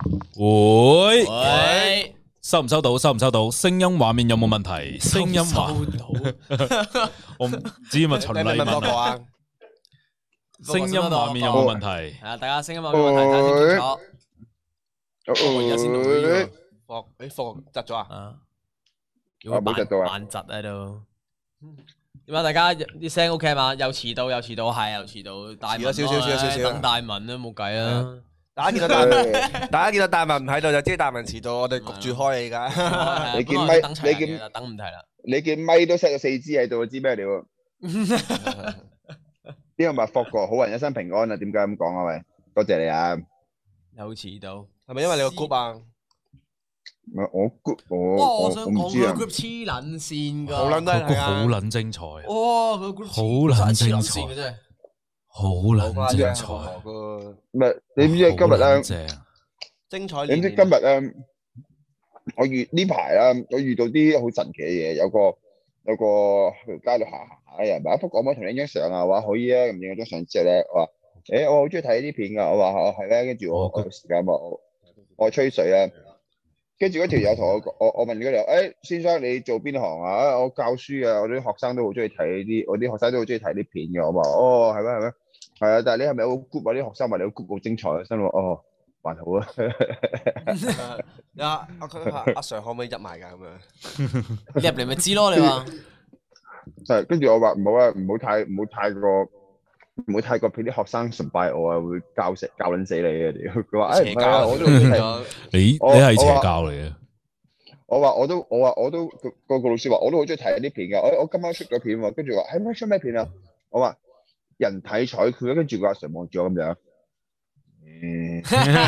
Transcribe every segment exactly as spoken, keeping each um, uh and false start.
喂喂， 收唔收到？收唔收到？聲音畫面有冇問題？聲音畫到， 我唔知咪陳麗文啊？聲音畫面有冇問題？ 係啊，大家聲音畫面有冇問題？睇下清清楚。 我而家先錄到呢個霍，誒霍窒咗啊？ 啊， 我冇窒到啊慢窒喺度。點解大家啲聲 OK 嘛？又遲到又遲到，係又遲到。大文遲咗少少少少少等大文都冇計啦。 大家見到大文，大家見到大文唔喺度就知大文遲到，我哋焗住開你而家。 你見咪等齊你見啦，等唔齊啦。 你見咪都 set 咗四支喺度，知咩料？呢個咪霍哥，好人一生平安啊！點解咁講啊？喂，多謝你啊！ 又遲到， 係咪因為你個 group 啊？ 唔係我 group，我哇！ 我我想講佢我唔知啊。 group 黐撚線㗎， 好撚都係個 group 好撚精彩啊！ 哇！佢 group 好撚精黐撚彩線嘅真係。 好撚精彩， 唔係你知唔知今日咧？ 好撚正精彩。 你知唔知今日咧？我遇呢排啦，我遇到啲好神奇嘅嘢，有個有個喺條街度行行下嘅人，話福哥可唔可以同你影張相啊？我話可以啊，咁影咗張相之後咧，我話誒我好中意睇呢啲片㗎，我話哦係咩？跟住我我有時間我我吹水啊。跟住嗰條友同我講，我我問嗰條友，誒先生你做邊行啊？啊我教書啊，我啲學生都好中意睇呢啲，我啲學生都好中意睇啲片嘅。我話哦係咩係咩？係啊，但係你係咪有個 group 啊？啲學生話你個 group 好精彩啊，心諗哦還好啊。 阿阿佢阿阿 Sir 可唔可以入埋㗎咁樣？ 入嚟咪知咯，你話。 係，跟住我話唔好啊，唔好太唔好太過唔好太過俾啲學生崇拜我啊，會教死教撚死你啊！屌，佢話誒唔係啊，我都好中意睇。 你你我係邪我話教嚟嘅， 我話我都我話我都個個個老師話我都好中意睇啲片㗎。我我今晚出咗片喎，跟住話係咩出咩片啊？我話人體彩繪，跟住個阿 Sir 望住我咁樣。嗯，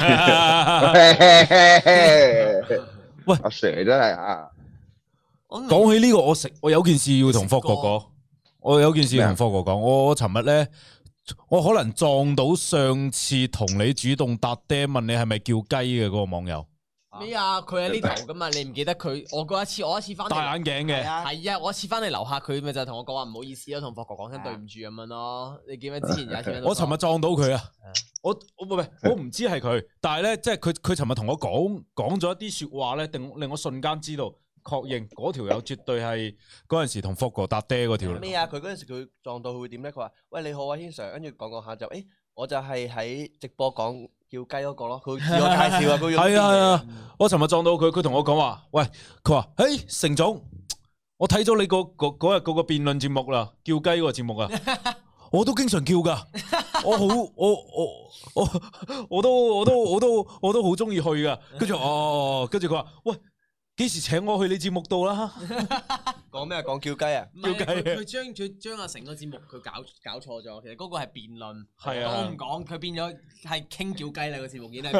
喂阿 Sir 真係啊！ 講起呢個，我食我有件事要同霍哥講，我有件事要同霍哥講。我我尋日咧，我可能撞到上次同你主動搭爹問你係咪叫雞嘅嗰個網友， 咩啊？佢喺呢頭噶嘛？你唔記得佢？我嗰一次，我一次翻嚟戴眼鏡嘅。 係啊，我一次翻嚟樓下，佢咪就同我講話唔好意思咯，同霍哥講聲對唔住咁樣咯。你記唔記得之前有一次？ 我尋日撞到佢啊！我我唔係我唔知係佢，但係咧即係佢佢尋日同我講講咗一啲說話咧，令令我瞬間知道確認嗰條友絕對係嗰陣時同霍哥搭爹嗰條。 咩啊？佢嗰陣時佢撞到佢會點咧？佢話：喂你好啊，軒 Sir，跟住講講下就誒，我就係喺直播講叫雞嗰個咯。佢自我介紹啊，佢係啊係啊！我尋日撞到佢，佢同我講話，喂，佢話誒成總，我睇咗你個嗰嗰日嗰個辯論節目啦，叫雞嗰個節目啊。我都經常叫噶，我好我我我我都我都我都我都好中意去噶。跟住哦，跟住佢話喂，幾時請我去你節目度啦？ 講咩啊？講叫雞啊？ 叫雞佢將佢將阿成個節目佢搞搞錯咗，其實嗰個係辯論， 係啊， 我唔講，佢變咗係傾叫雞啦個節目已經。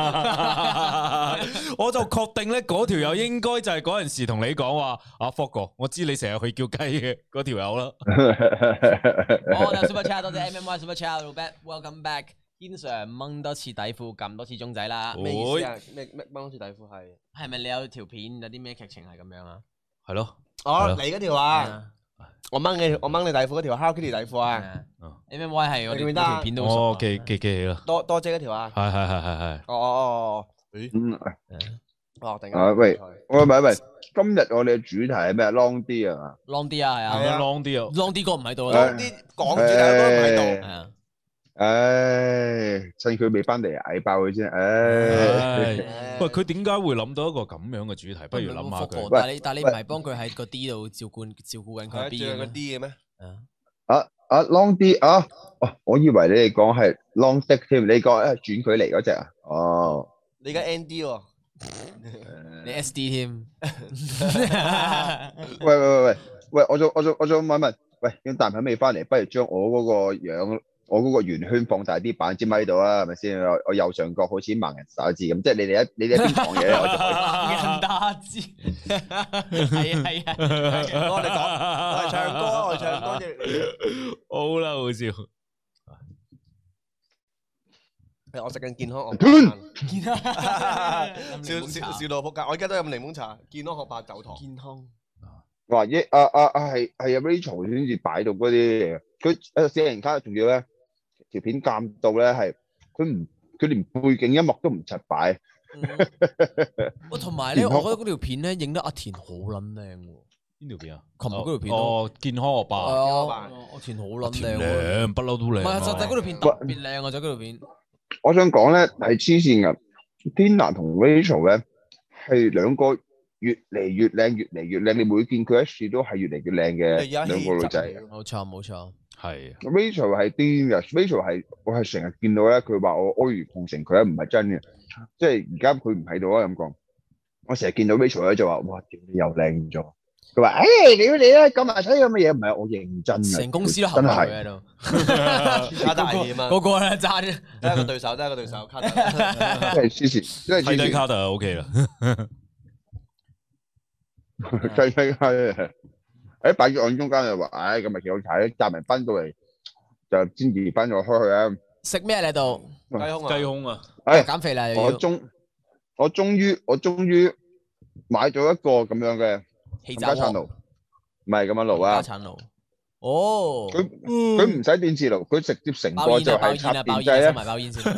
我就確定咧，嗰條友應該就係嗰陣時同你講話，阿霍哥，我知你成日去叫雞嘅嗰條友啦。 好，有 Super Chat 多謝 M M Y Super Chat，Welcome back， 軒 Sir 掹多次底褲，撳多次鐘仔啦。 咩意思啊？咩咩掹多次底褲係？ 係咪你有條片有啲咩劇情係咁樣啊？ 係咯。 哦，你嗰條啊？我掹你，我掹你底褲嗰條 Hello Kitty 底褲啊 ！M M Y 係我哋條片都哦，記記記起啦。 多多姐嗰條啊？ 係係係係係。 哦哦哦，誒， 嗯， 哦，定啊喂，喂喂喂，今日我哋嘅主題係咩 ？Long 啲啊 ？Long 啲啊，係啊。 係啊，Long 啲啊 ，Long 啲哥唔喺度啊。Long 啲講主題都唔喺度。係啊。 唉，趁佢未翻嚟嗌爆佢先，唉。 喂，佢點解會諗到一個咁樣嘅主題？不如諗下佢。 但係你但係你唔係幫佢喺個 D 度照顧照顧緊佢 B 嘅 D 嘅咩？ 啊啊 Long 啲啊！哦，我以為你哋講係 Long Dick 添，你講誒轉距離嗰隻啊？哦。 你而家 N D 喎。 你 S D 添。 喂喂喂喂喂，我仲我仲我仲問問，喂，咁男朋友未翻嚟，不如將我嗰個樣。我嗰個圓圈放大啲，擺支咪度啊，係咪先？我右上角好似盲人打字咁，即係你哋一你哋一邊講嘢，我就可以人打字。係啊係啊， 我哋講，我哋唱歌，我哋唱歌啫。 好啦，好笑。 我食緊健康學健康， 笑笑笑到仆街。我而家都飲檸檬茶，健康學白酒糖。 健康。 話一啊啊啊係係啊 Rachel 先至擺到嗰啲嘢，佢誒四人卡仲要咧條片監到咧係佢唔佢連背景音樂都唔柒擺， 喂，同埋咧，我覺得嗰條片咧影得阿田好撚靚喎。 邊條片啊？ 琴日嗰條片哦，健康學霸。 阿田好撚靚喎。 靚，不嬲都靚。 唔係，實際嗰條片特別靚啊！就嗰條片。 我想講咧係黐線噶 ，Tina 同 Rachel 咧係兩個越嚟越靚，越嚟越靚。你每見佢一次都係越嚟越靚嘅兩個女仔。 冇錯，冇錯。 係。 Rachel 係癲嘅 ，Rachel 係我係成日見到咧，佢話我阿諛奉承佢咧，唔係真嘅，即係而家佢唔喺度啊咁講。我成日見到 Rachel 咧就話：哇，屌你又靚咗！佢話：誒，屌你啦，咁埋睇咁嘅嘢，唔係我認真嘅。 成公司都合佢喺度， 卡特危險啊！ 個個咧爭， 得一個對手，得一個對手，卡特。 真係黐線，真係睇睇卡特就 OK 啦。 睇睇卡特，喺擺咗案中間就話：唉，咁咪幾好睇，集埋班到嚟就先至班咗開去啊！ 食咩你度？ 雞胸啊！ 雞胸啊！ 誒， 減肥啦！ 我終我終於我終於買咗一個咁樣嘅氣家產爐，唔係咁樣爐啊！ 家產爐，哦， 佢佢唔使電磁爐，佢直接成個就係插電掣咧。 咧。 埋包煙先。 誒，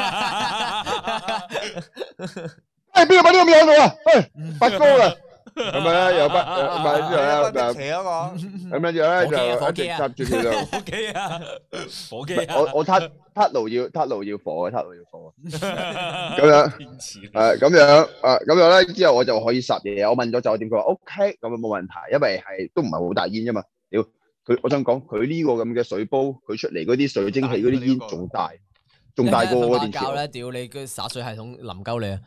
邊個擺呢個嘢喺度啊？誒，拔高啦！咁樣咧又拔，唔係之後咧就斜嗰個， 咁樣之後咧就一直插住佢度。 火機啊！火機啊！ 我我撻撻爐要撻爐要火嘅，撻爐要火。咁樣誒，咁樣誒，咁樣咧之後我就可以烚嘢。我問咗酒店，佢話 OK，咁樣冇問題，因為係都唔係好大煙啫嘛。屌佢，我想講佢呢個咁嘅水煲，佢出嚟嗰啲水蒸氣嗰啲煙仲大，仲大過嗰電磁爐咧。屌你，佢灑水系統淋鳩你啊！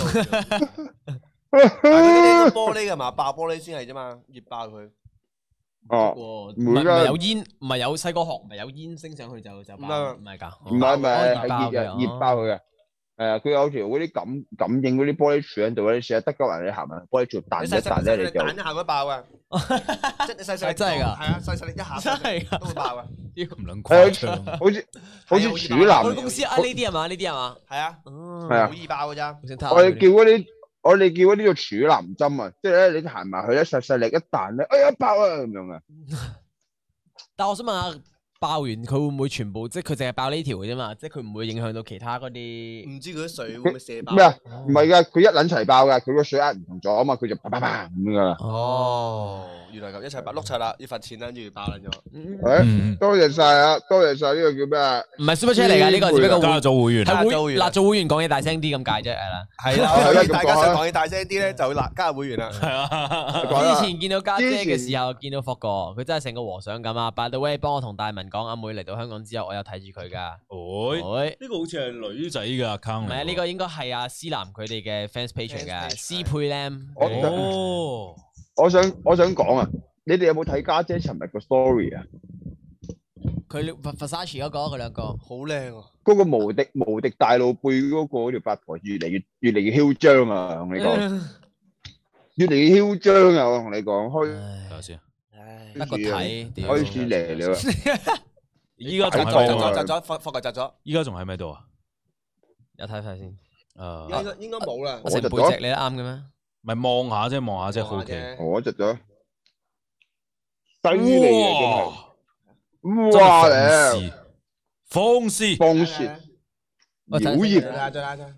嗰啲玻璃㗎嘛，爆玻璃先係啫嘛，熱爆佢。 哦， 唔係唔係有煙，唔係有細個學，唔係有煙升上去就就爆，唔係㗎。 唔係唔係係熱嘅，熱爆佢嘅。係啊，佢有條嗰啲感感應嗰啲玻璃柱喺度咧，成日得鳩人你行啊，玻璃柱彈一彈咧，你就彈一下佢爆啊！即係你細細力真係㗎， 係啊，細細力一下真係㗎， 都會爆啊！ 唔撚誇張， 好似好似柱男。 我哋公司啊呢啲係嘛？呢啲係嘛？ 係啊， 係啊， 好易爆㗎咋。 我哋叫嗰啲。我哋叫嗰啲叫柱男針啊，即係咧你行埋去咧細細力一彈咧，哎呀爆啊咁樣啊！ 但係我想問下，爆完佢會唔會全部即係佢淨係爆呢條嘅啫嘛？即係佢唔會影響到其他嗰啲？ 唔知佢啲水會唔會射爆？ 咩啊？唔係噶，佢一撚齊爆噶，佢個水壓唔同咗啊嘛，佢就啪啪啪咁樣噶啦。 哦，原來咁一齊爆碌柒啦，要罰錢啦，跟住爆撚咗。 誒，多謝晒啊，多謝晒呢個叫咩啊？ 唔係 Super Chat 嚟㗎，呢個只不過加咗會員， 係會嗱做會員講嘢大聲啲咁解啫，係啦。 係啦，大家想講嘢大聲啲咧，就嗱加入會員啦。 係啊， 之前見到家姐嘅時候，見到霍哥，佢真係成個和尚咁啊！By the way，幫我同大文講，阿妹嚟到香港之後，我有睇住佢㗎。 會呢個好似係女仔嘅 account 唔係啊，呢個應該係阿思南佢哋嘅 fans page 嚟嘅，思佩 Lam。 哦， 我想我想講啊，你哋有冇睇家姐尋日個 story 啊？ 佢 Versace 嗰個，佢兩個好靚啊！ 嗰個無敵無敵大露背嗰個嗰條八婆越嚟越越嚟越囂張啊！同你講，越嚟越囂張啊！我同你講，開睇下先， 得個睇， 開始嚟了。 依家仲喺喺度啊窒咗，霍霍格窒咗。 依家仲喺咪度啊？ 有睇睇先。 誒， 應該應該冇啦。 我成背脊你都啱嘅咩？ 咪望下啫，望下啫，好奇。 我窒咗，犀利啊！真係。 哇！ 咧， 放肆， 放肆，妖孽！ 再拉再拉。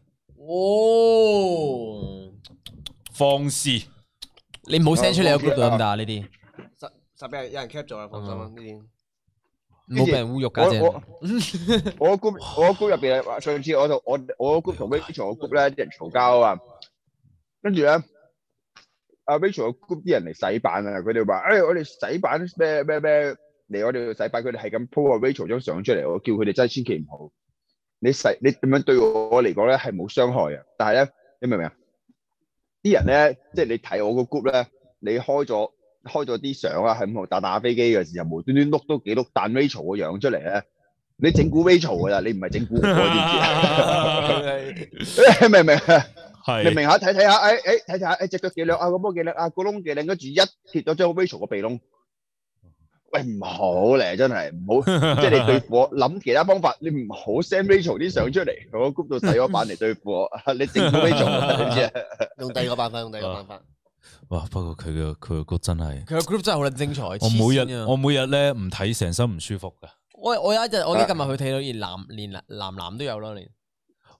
哦， 放肆！ 你唔好 send 出嚟個 group 度得唔得啊？呢啲實實俾人有人 cap 咗啦，放心啦呢啲。 唔好俾人侮辱家姐。 我我 group 我 group 入邊啊，上次我同我我 group 同 Rachel 個 group 咧啲人嘈交啊，跟住咧阿 Rachel 個 group 啲人嚟洗版啊，佢哋話誒我哋洗版咩咩咩嚟我哋度洗版，佢哋係咁 po 阿 Rachel 張相出嚟，我叫佢哋真係千祈唔好，你洗你咁樣對我嚟講咧係冇傷害啊，但係咧你明唔明啊？啲人咧即係你睇我個 group 咧，你開咗。開咗啲相啊，喺度打打飛機嘅時候，無端端碌都幾碌彈 Rachel 個樣出嚟咧，你整蠱 Rachel 噶啦，你唔係整蠱我，知唔知？明唔明啊？ 係明唔明下睇睇下，誒誒睇睇下，誒隻腳幾靚啊，個波幾靚啊，個窿幾靚，跟住一貼咗張 Rachel 個鼻窿，喂唔好咧，真係唔好，即係你對付我諗其他方法，你唔好 send Rachel 啲相出嚟，我 group 度洗咗版嚟對付我，你整蠱 Rachel，你知啊？ 用第二個辦法，用第二個辦法。 哇！不過佢嘅佢個 group 真係， 佢個 group 真係好撚精彩。 我每日我每日咧唔睇成身唔舒服噶。 我我有一日我記得今日去睇到連男連男男都有咯，連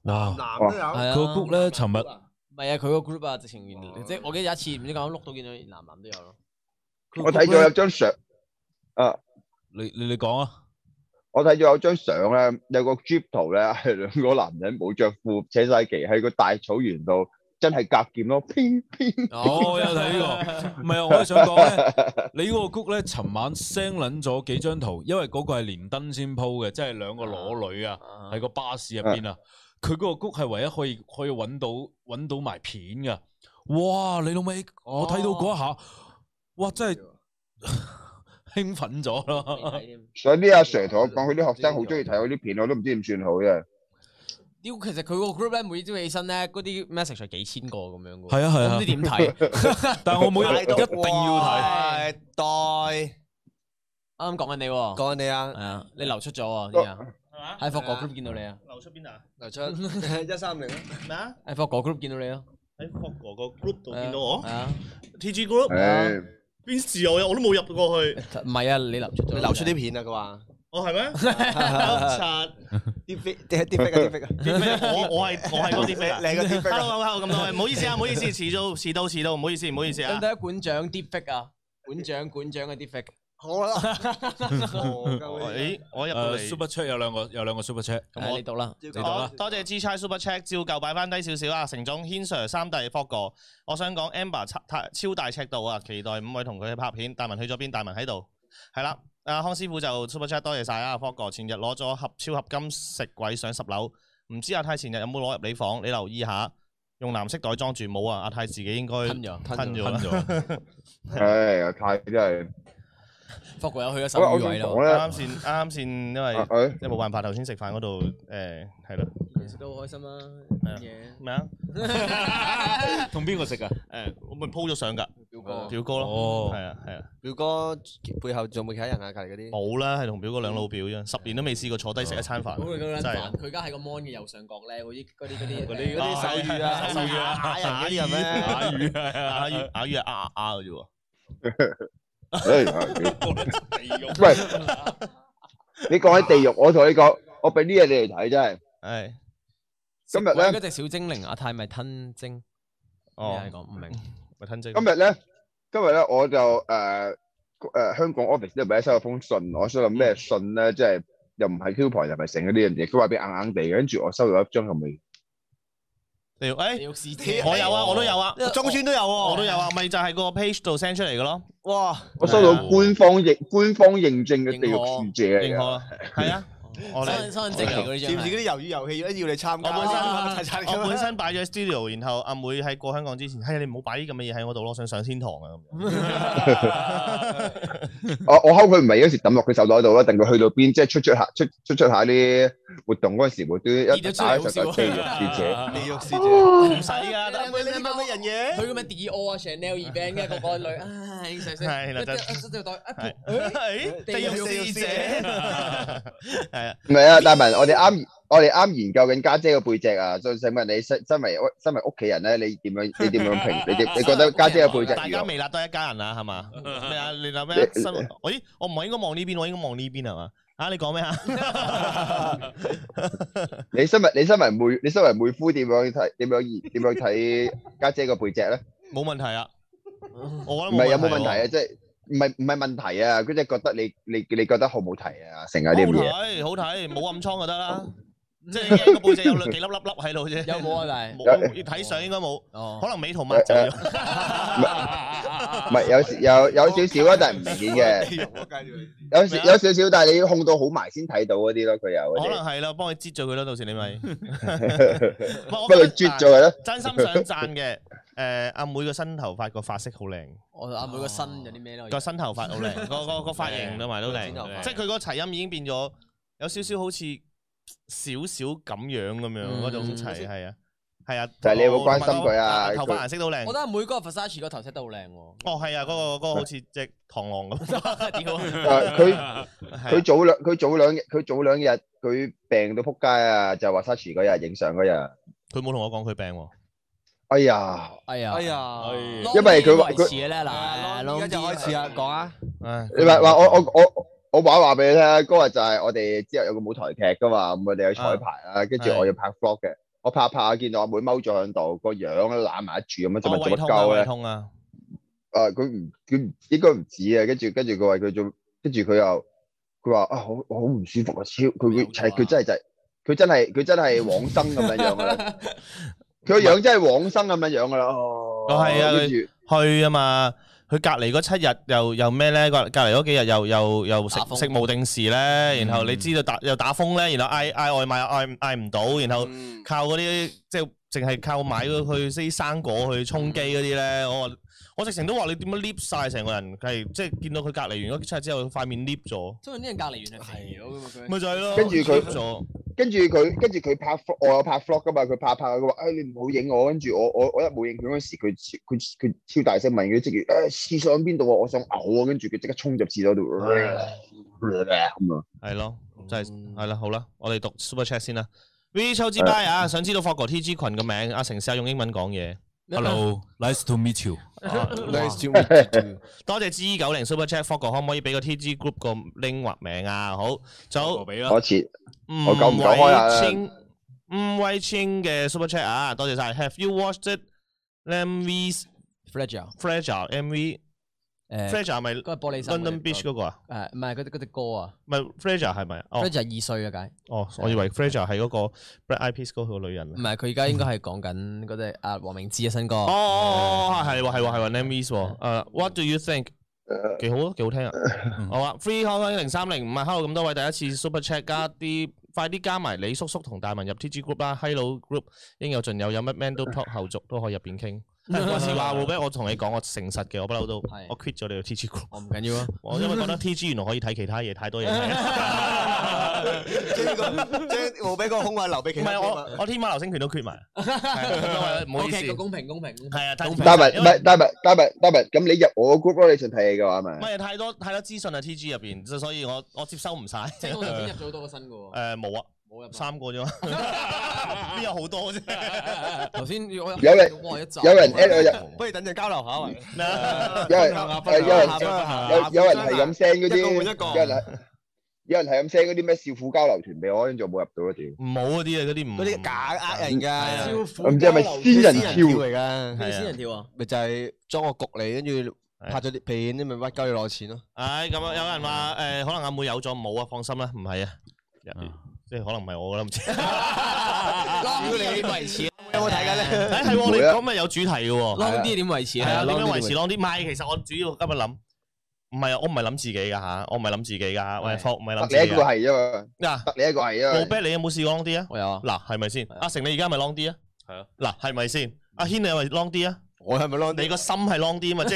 哇！ 男都有。 係啊佢個 group 咧，尋日唔係啊，佢個 group 啊，直情即係我記得有一次唔知講碌到見到男男都有咯。 我睇咗有張相，啊， 你你你講啊！ 我睇咗有張相咧，有個 Jeep 圖咧，係兩個男人冇着褲，扯晒旗喺個大草原度，真係夾劍咯，乒乒。 哦，我有睇呢個，唔係啊，我係想講咧，你嗰個 group 咧，尋晚 send 撚咗幾張圖，因為嗰個係連登先 po 嘅，即係兩個裸女啊，喺個巴士入邊啊，佢嗰個 group 係唯一可以可以揾到揾到埋片噶，哇！你老味，我睇到嗰一下，哇！真係興奮咗咯。 所以啲阿 Sir 同我講，佢啲學生好中意睇我啲片，我都唔知點算好啫。 屌，其實佢個 group 咧，每朝起身咧，嗰啲 message 係幾千個咁樣嘅。 係啊係啊， 唔知點睇。 但係我每日一定要睇。 代啱啱講緊你喎。 講緊你啊。 係啊，你流出咗喎，啲啊。喺霍哥 group 見到你啊。 流出邊啊？ 流出一三零咩啊？ 喺霍哥 group 見到你啊。 喺霍哥個 group 度見到我係啊。 T G group 誒， 邊時我我都冇入過去。 唔係啊，你流出咗。 你流出啲片啊，佢話。 哦係咩？柒啲飛啲啲飛啊啲飛啊。 啲咩？我我係我係嗰啲飛啊！ 你個啲飛啊。 Hello hello 咁多位，唔好意思啊，唔好意思，遲到遲到遲到，唔好意思唔好意思啊。 咁第一館長 deepfake 啊，館長館長嘅 deepfake。 好啦。 誒，我入到誒嚟。 super chat 有兩個有兩個 super chat， 咁我你讀啦， 你讀啦。 多謝 G 差 super check， 照舊擺翻低少少啊。成總、軒 Sir、三弟、Fog 哥，我想講 Amber 太超大尺度啊，期待五位同佢去拍片。大文去咗邊？大文喺度，係啦。阿康師傅就 super chat 多謝晒啊 ，Fog 哥前日攞咗盒超合金食鬼上十樓，唔知阿泰前日有冇攞入你房？你留意下，用藍色袋裝住冇啊。阿泰自己應該吞咗吞咗吞咗。 唉，阿泰真係。 霍哥有去咗手語位咯。 啱啱先啱啱先，因為誒即係冇辦法，頭先食飯嗰度誒係咯。 食得好開心啊！嘢咩啊？ 同邊個食啊？ 誒，我咪 po 咗相㗎。 表哥， 表哥咯， 哦係啊係啊， 表哥背後仲冇其他人啊？隔離嗰啲。 冇啦，係同表哥兩老表啫，十年都未試過坐低食一餐飯， 咁佢咁樣真係煩，佢而家喺個 mon 嘅右上角咧，嗰啲嗰啲嗰啲嗰啲嗰啲手語啊， 手語啊， 打人嗰啲係咩？ 啞語係啊，啞語啞語係啊啊啊嘅啫喎。 誒，喂，你講起地獄，我同你講，我俾啲嘢你嚟睇真係。 係今日咧嗰隻小精靈阿泰咪吞精， 哦咩嚟講唔明。 咪吞精。 今日咧，今日咧我就誒誒香港 office 咧，咪收咗封信，我想諗咩信咧，即係又唔係 coupon 又唔係成嗰啲嘢，佢話俾硬硬地嘅，跟住我收咗一張咁嘅。 地獄誒， 地獄使者， 我有啊，我都有啊， 中村都有喎。 我都有啊，咪就係個 page 度 send 出嚟嘅咯。 哇！ 我收到官方認官方認證嘅地獄使者嚟嘅。 認可啦，係啊，我哋身身份證嚟嗰啲張似唔似嗰啲魷魚遊戲一要你參加？ 我本齊齊身我本身擺咗喺 studio，然後阿妹喺過香港之前，係你唔好擺啲咁嘅嘢喺我度咯，想上天堂啊咁樣。 我我睺佢唔係嗰時抌落佢手袋度啦，等佢去到邊，即係出出下出出出下啲活動嗰陣時，會都一打一實個地獄使者。 地獄使者唔使㗎，得你你咁嘅人嘢？ 佢咁樣 Dior 啊 Chanel event 嘅個個女，唉，細聲， 係啦，就一袋係地獄使者，係啊。 唔係啊，大文，我哋啱我哋啱研究緊家姐個背脊啊，所以想問你身身為身為屋企人咧，你點樣你點樣評？你點你覺得家姐個背脊大家如何？ 微辣都係一家人啦，係嘛？咩啊？你諗咩？新我咦？我唔係應該望呢邊，我應該望呢邊係嘛？啊！你講咩啊？ 你身為你身為妹，你身為妹夫點樣睇？點樣點樣睇家姐個背脊咧？ 冇問題啊，我唔覺得係有冇問題喎啊？即係唔係唔係問題啊？佢即係覺得你你你覺得好唔好睇啊？成日好啲咁嘢。 睇，好睇，冇暗瘡就得啦。即係驚個背脊有兩幾粒粒粒喺度啫。 有冇啊？但係冇，要睇相應該冇， 哦可能美圖抹走咗。 唔係有時有有少少啊，但係唔明顯嘅。有時有少少，但係你要控到好埋先睇到嗰啲咯。佢有嗰啲， 可能係啦，幫佢擠咗佢咯，到時你咪。 幫佢啜咗佢咯。 真心想讚嘅，誒阿妹個新頭髮個髮色好靚， 我阿妹個身有啲咩咧？ 個新頭髮好靚，個個個髮型同埋都靚，即係佢個齊音已經變咗有少少好似少少咁樣咁樣嗰種齊係啊。係啊， 但係你有冇關心佢啊？ 頭髮顏色都靚。 我覺得每個 Versace 個頭飾都好靚喎。 哦，係啊，嗰個嗰個好似隻螳螂咁。屌誒佢佢早兩佢早兩日佢早兩日佢病到撲街啊！就話 Sachi 嗰日影相嗰日， 佢冇同我講佢病喎。 哎呀， 哎呀， 哎呀， 因為佢話佢維持嘅咧嗱， 而家就開始啦，講啊！ 唉， 你話話我我我我話話俾你聽，嗰日就係我哋之後有個舞台劇噶嘛，咁我哋去彩排啦，跟住我要拍 vlog 嘅。 我拍拍下見到阿妹踎咗喺度，個樣攬埋一住咁樣，做乜做乜胃痛啊，胃鳩咧？ 痛啊！ 誒佢唔佢唔應該唔止啊，跟住跟住佢話佢做，跟住佢又佢話啊好好唔舒服啊，超佢佢係佢真係就係佢真係佢真係往生咁樣樣噶啦，佢個樣真係往生咁樣樣噶啦。哦， 哦係啊， 跟住去啊嘛，佢隔離嗰七日又又咩咧？隔隔離嗰幾日又又又食打風食無定時咧，然後你知道打又打風咧，然後嗌嗌外賣嗌嗌唔到，然後嗯靠嗰啲即係淨係靠買嗰去啲生果去充飢嗰啲咧，我話我直情都話你點樣 lift 晒成個人，係即係見到佢隔離完嗰七日之後，塊面 lift 咗， 因為啲人隔離完係肥咗噶嘛佢。 咪就係咯。 跟住佢 lift 咗， 跟住佢跟住佢拍 vlog，我有拍 vlog 噶嘛，佢拍拍佢話誒你唔好影我，跟住我我我一冇影佢嗰時，佢超佢佢超大聲問佢職員誒廁所喺邊度啊，我想嘔啊，跟住佢即刻衝入廁所度咁啊。 係咯，真係係啦，好啦，我哋讀 super chat 先啦。V 秋之 bye 啊，想知道霍哥 T G 群嘅名，阿成試下用英文講嘢。 Hello，nice to meet you。 Nice to meet you too。 多謝 G 九零 super chat，霍哥可唔可以俾個 T G group 個 link 或名啊？好，仲有俾啦。 我切吳我久唔久開下啦偉清吳偉清嘅 super chat 啊，多謝晒。Have you watched M V's Fragile Fragile M V？ 誒 Fragile 係咪嗰個玻璃心 London Beach 嗰個啊？ 誒唔係嗰啲嗰隻歌啊唔係 Fragile 係咪？哦 ，Fragile 二歲啊解。 哦，我以為 Fragile 係嗰個 Black Eyed Peas 嗰個女人啊唔。係佢而家應該係講緊嗰隻阿黃明志嘅新歌。 哦哦哦，係喎係喎係喎 Name Is 喎。誒，What do you think？幾好啊，幾好聽啊！好啊，Free 開開零三零五啊，Hello 咁多位第一次 Super Chat 加啲，快啲加埋李叔叔同大文入 T G Group 啦 ，Hello Group 應有盡有，有乜 Man 都 Talk 後續都可以入邊傾。嗰時話會俾我同你講，我誠實嘅，我不嬲都係我 quit 咗你個 T G Group。 我唔緊要啊。 我因為覺得 T G 原來可以睇其他嘢，太多嘢睇。 即係呢個即係冇俾個空位留俾唔其他係我我天馬流星拳都 quit 埋，係唔好意 OK， 思。 公平公平公平。 係啊，太公平大文唔因為係大文大文大文，咁你入我個 group 咯，你想睇戲嘅話唔咪？ 係太多太多資訊啊 T G 入邊，即係所以我我接收唔晒。 即係我頭先入咗好多個新嘅喎。 誒冇啊， 冇入三個啫嘛，邊有好多啫？ 頭先我有人哇一集有人 at 我入， 不如等陣交流下喂。 有人誒有人有有人係咁 send 嗰啲， 一個換一個有人係有人係咁 send 嗰啲咩少婦交流團俾我，跟住我冇入到一條。 唔好嗰啲啊，嗰啲唔嗰啲假呃人㗎， 我唔知係咪仙人跳嚟㗎？ 咩仙人跳啊？ 咪就係裝個局嚟，跟住拍咗啲片，你咪屈鳩你攞錢咯。 唉，咁啊，有人話誒，可能阿妹有咗冇啊？放心啦，唔係啊，即係可能唔係我啦，唔知。 Long 啲點維持？ 有冇睇緊咧？ 誒係喎，你講咪有主題嘅喎。 Long 啲點維持？ 係啊，點樣維持 long long 啲？唔係，其實我主要今日諗，唔係啊，我唔係諗自己㗎嚇，我唔係諗自己㗎，喂，霍唔係諗自得你一個己㗎。 係啫嘛， 嗱， 得你一個係啊冇嘛。 bet 你有冇試過 long 啲啊？ 我有啊。 嗱，係咪先？阿成你而家係咪 long 啲啊？ 係啊。 嗱，係咪先？阿軒你係咪 long 啲啊？ 我係咪 long 你個心係 long 啲啊嘛，即係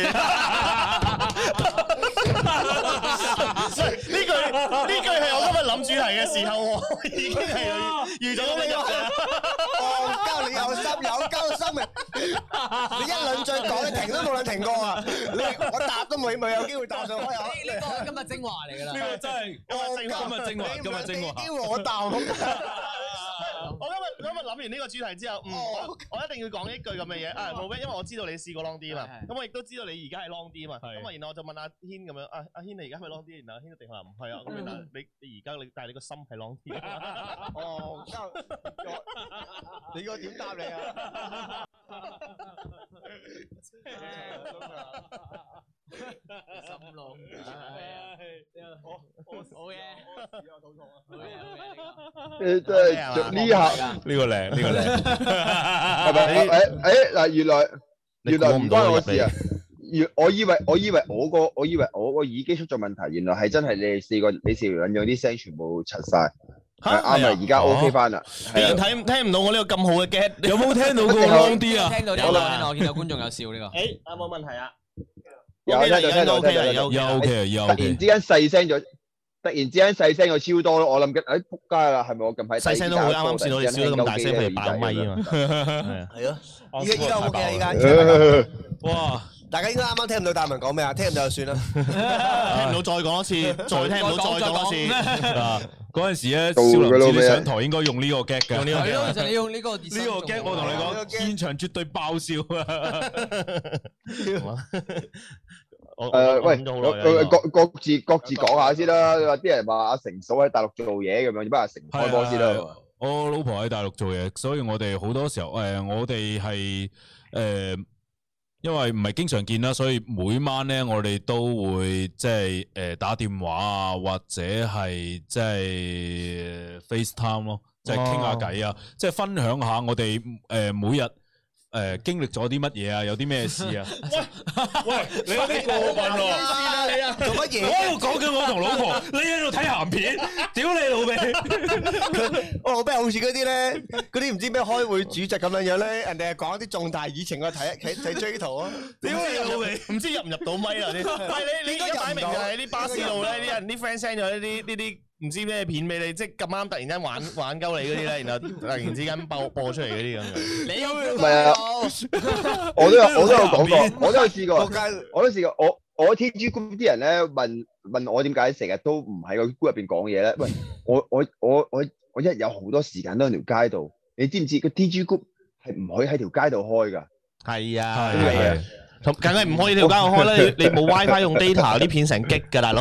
呢句呢句係我今日諗主題嘅時候，我已經係預咗咁樣嘅。 戇鳩，你有心有鳩心嘅，你一兩句講，你停都冇兩停過啊！你我答都冇冇有機會答上開口。 呢個係今日精華嚟㗎啦。 呢個真係今日精華，今日精華，今日精華。 機會我答。 我今日今日諗完呢個主題之後，嗯，我我一定要講一句咁嘅嘢啊，冇咩，因為我知道你試過 long 啲啊嘛，咁我亦都知道你而家係 long 啲啊嘛，咁啊，然後我就問阿軒咁樣，啊阿軒你而家係咪 long 啲？然後阿軒一定話唔係啊，咁但係你你而家你但係你個心係 long 啲。 哦，你個點答你啊？ 心long。好，好嘢。 誒真係呢下呢個靚，呢個靚。 係咪？誒誒嗱，原來原來唔關我事啊！原我以為我以為我個我以為我個耳機出咗問題，原來係真係你哋四個你四條撚樣啲聲全部柒晒。係啱啦，而家 OK 翻啦。 竟然睇聽唔到我呢個咁好嘅 get， 有冇聽到個 long 啲啊？ 聽到聽到聽到，我見到觀眾有笑呢個。 誒，有冇問題啊？ 有聽到聽到 OK 啦， 聽到有有 OK，有突 OK。 然之間細聲咗，突然之間細聲咗超多咯。我諗緊，誒仆街啦，係咪我近排細聲都好，啱啱試到你笑得咁大聲，譬如爆咪啊嘛。係啊。 係咯，依家依家 OK 啊，依家。 哇！ 大家應該啱啱聽唔到大文講咩啊？聽唔到就算啦。 聽唔到再講一次，再聽唔到再講一次。 嗱，嗰陣時咧， 到少林寺㗎咯咩你上台應該用呢個 get 嘅。 用呢個係咯， get 其實你用呢個呢個 get 我同你講，現場絕對爆笑啊！ 我誒喂， 諗咗好耐啊各各各自各自講下先啦。話啲人話阿成嫂喺大陸做嘢咁樣，不如阿成開波先啦。 我老婆喺大陸做嘢，所以我哋好多時候誒、呃，我哋係誒，因為唔係經常見啦，所以每晚咧我哋都會即係誒打電話啊，或者係即係 FaceTime 咯，即係傾下偈啊，即係分享下我哋誒、呃、每日。誒，經歷咗啲乜嘢啊？有啲咩事啊？喂喂，你有啲過分喎！ 你啊，做乜嘢？ 我喺度講緊我同老婆，你喺度睇鹹片，屌你老味！ 我老闆好似嗰啲咧，嗰啲唔知咩開會主席咁樣樣咧，人哋係講一啲重大議程，我睇睇睇追圖啊！ 屌你老味，唔知入唔入到咪啊？你喂你你而家擺明就係啲巴士路咧，啲人啲 friend send 咗呢啲呢啲。唔知咩片俾你，即係咁啱突然間玩玩鳩你嗰啲咧，然後突然之間播播出嚟嗰啲咁樣。 你唔係啊，我都有我都有講過，我都有試過，我都試過。我我 T G group 啲人咧問問我點解成日都唔喺個 group 入邊講嘢咧？喂，我我我我我一有好多時間都喺條街度，你知唔知個 T G group 係唔可以喺條街度開㗎？ 係啊， 係啊。 梗係唔可以條街度開啦！你你冇 WiFi 用 data 啲片成激㗎大佬，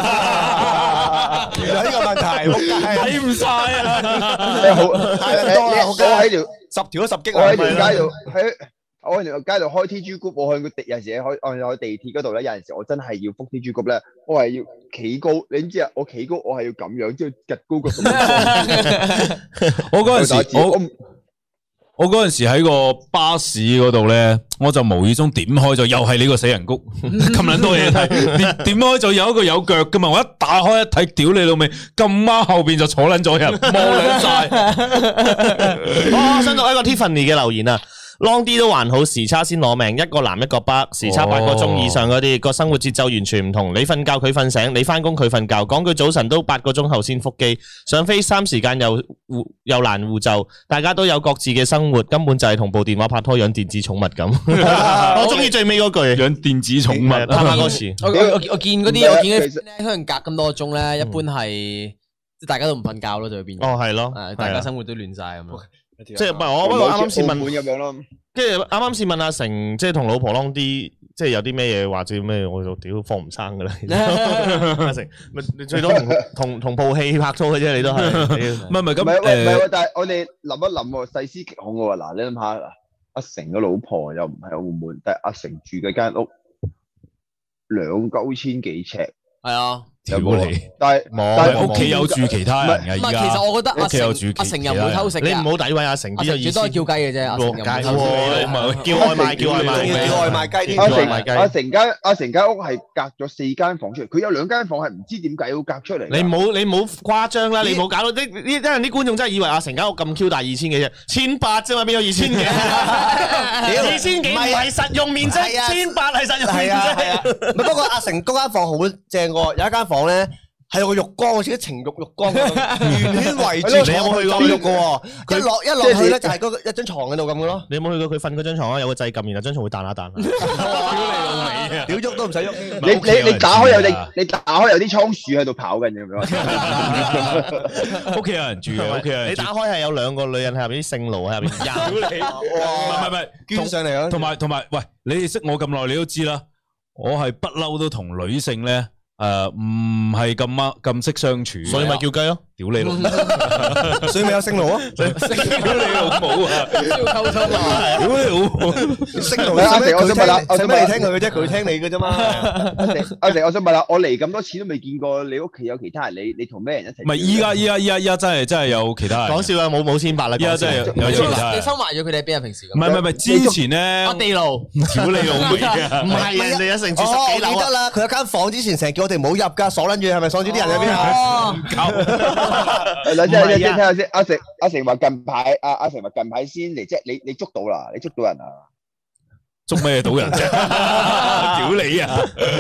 原來呢個問題， 睇唔晒啊！ 好太多啦！ 我喺條十條都十激， 我喺條街度喺我喺條街度開 T G group，我去個地有陣時開我喺地鐵嗰度咧，有陣時我真係要覆 T G group 咧，我係要企高，你知唔知啊？我企高，我係要咁樣，即係趌高個咁。 我嗰陣時我。我嗰陣時喺個巴士嗰度咧，我就無意中點開咗，又係呢個死人谷，咁撚多嘢睇，點點開咗有一個有腳噶嘛，我一打開一睇，屌你老味，咁啱後邊就坐撚咗人，望撚晒。 我想讀一個 Tiffany 嘅留言啊。Long 啲都還好，時差先攞命。一個南一個北，時差八個鐘以上嗰啲，個生活節奏完全唔同。你瞓覺佢瞓醒，你翻工佢瞓覺。講句早晨都八個鐘後先覆機，上FaceTime時間又互又難互就，大家都有各自嘅生活，根本就係同部電話拍拖養電子寵物咁。我中意最尾嗰句， 養電子寵物， 拍拍嗰詞。 我我我見嗰啲我見嗰啲咧，可能隔咁多個鐘咧，一般係即係大家都唔瞓覺咯，就會變。 哦，係咯， 大家生活都亂晒咁樣。 即係唔係我不過啱啱先問咁樣咯， 跟住啱啱先問阿成，即係同老婆 long 啲，即係有啲咩嘢或者咩，我就屌放唔生噶啦。阿成，咪你最多同同同部戲拍拖嘅啫，你都係。 唔係唔係咁， 唔係喂唔係喎，但係我哋諗一諗喎，細思極恐嘅喎。嗱，你諗下，阿成嘅老婆又唔係澳門，但係阿成住嘅間屋兩九千幾尺， 係啊。 屌你！ 但係但係屋企有住其他人嘅， 唔係，其實我覺得阿成阿成又冇偷食， 你唔好詆毀阿成， 最多係叫雞嘅啫。阿成又冇偷食， 叫外賣叫外賣叫外賣雞。 阿成阿成間阿成間屋係隔咗四間房出嚟，佢有兩間房係唔知點解要隔出嚟。 你冇你冇誇張啦，你冇搞到啲啲，因為啲觀眾真係以為阿成間屋咁 Q 大二千幾啫，千八啫嘛，邊有二千幾？二千幾唔係實用面積，千八係實用面積。 係啊，不過阿成嗰間房好正喎，有一間房咧。係有個浴缸，好似啲情慾浴缸咁，圓圈圍住。 你有冇去過浴嘅喎？一落一落去咧，就係嗰個一張床喺度咁嘅咯。 你有冇去過佢瞓嗰張床啊？有個掣撳，然後張床會彈下彈下。 屌你老味啊！ 屌喐都唔使喐。 你你你打開有啲，你打開有啲倉鼠喺度跑緊咁樣。 屋企有人住嘅，屋企有人。 你打開係有兩個女人喺入邊，啲聖奴喺入邊。 屌你！唔係唔係， 捐上嚟啊！ 同埋同埋，喂，你哋識我咁耐，你都知啦。我係不嬲都同女性咧。誒，唔係咁啱咁識相處， 所以咪叫雞咯。 屌你老， 所以咪有星路啊！ 屌你老母啊！ 要溝通啊！ 屌你老母！ 星路阿成，我想問下，我使咩嚟聽佢嘅啫？佢聽你嘅啫嘛。 阿成，阿成，我想問下，我嚟咁多次都未見過你屋企有其他人，你你同咩人一齊？ 唔係依家依家依家依家真係真係有其他人。 講笑啊，冇冇千八啦。依家真係有其他人。 你收埋咗佢哋喺邊啊？平時唔係唔係唔係，之前咧， 阿地牢， 屌你老味啊！ 唔係人哋一成住十幾樓我記得啦，佢有間房之前成日叫我哋唔好入噶，鎖撚住係咪鎖住啲人喺邊啊？ 唔夠。 嗱，即係即係聽下先，阿成阿成話近排阿阿成話近排先嚟，即係你你捉到啦，你捉到人啊？ 捉咩到人啫？屌你啊！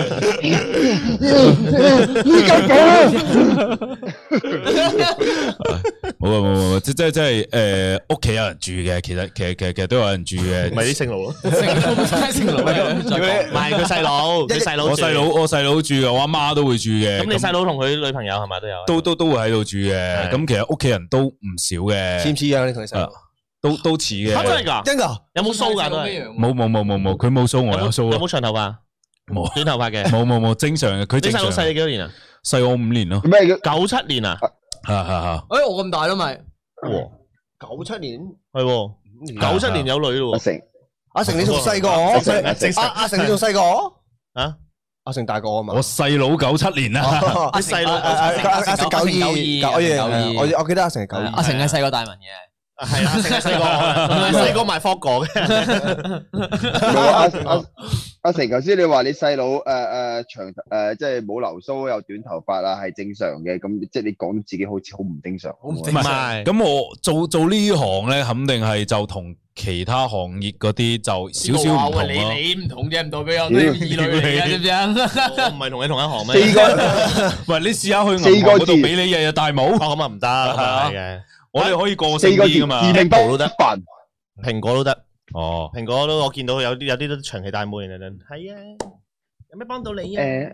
冇啊冇冇冇，即即即係誒，屋企有人住嘅，其實其實其實其實都有人住嘅， 咪啲聖奴咯， 聖奴唔係佢細佬，佢細佬， 我細佬我細佬住嘅，我阿媽都會住嘅。 咁你細佬同佢女朋友係咪都有？ 都都都會喺度住嘅。咁其實屋企人都唔少嘅。 似唔似樣？你同你細佬？ 都都似嘅。 真係㗎？ 真㗎？ 有冇鬚㗎？都係冇冇冇冇冇，佢冇鬚，我有鬚。 有冇長頭髮？ 冇。 短頭髮嘅？ 冇冇冇，正常嘅。佢正常。 你細佬細你幾多年啊？ 細我五年咯。 咩叫九七年啊？ 係係係。 誒，我咁大咯咪？ 喎， 九七年係喎，九七年有女咯喎。 阿成， 阿成你仲細過我，阿阿成你仲細過我啊？ 阿成大過我嘛？ 我細佬九七年啦， 啲細佬阿成九二九二，我我記得阿成係九二， 阿成係細過大文嘅。 係啊，成日細個，細個賣霍哥嘅。 阿阿阿成，頭先你話你細佬誒誒長誒，即係冇留鬚有短頭髮啊，係正常嘅。咁即係你講自己好似好唔正常。 唔係， 咁我做做呢行咧，肯定係就同其他行業嗰啲就少少唔同咯。 你你唔同啫，唔代表有啲異類嚟嘅，知唔知啊？ 我唔係同你同一行咩？ 四個， 喂，你試下去銀行嗰度俾你日日戴帽， 哦咁啊唔得，係嘅。 我哋可以過性四個字， 啲噶嘛？ 自命不凡。 蘋果都得， 哦， 蘋果都我見到有啲有啲都長期戴帽嘅人，係啊，有咩幫到你啊誒，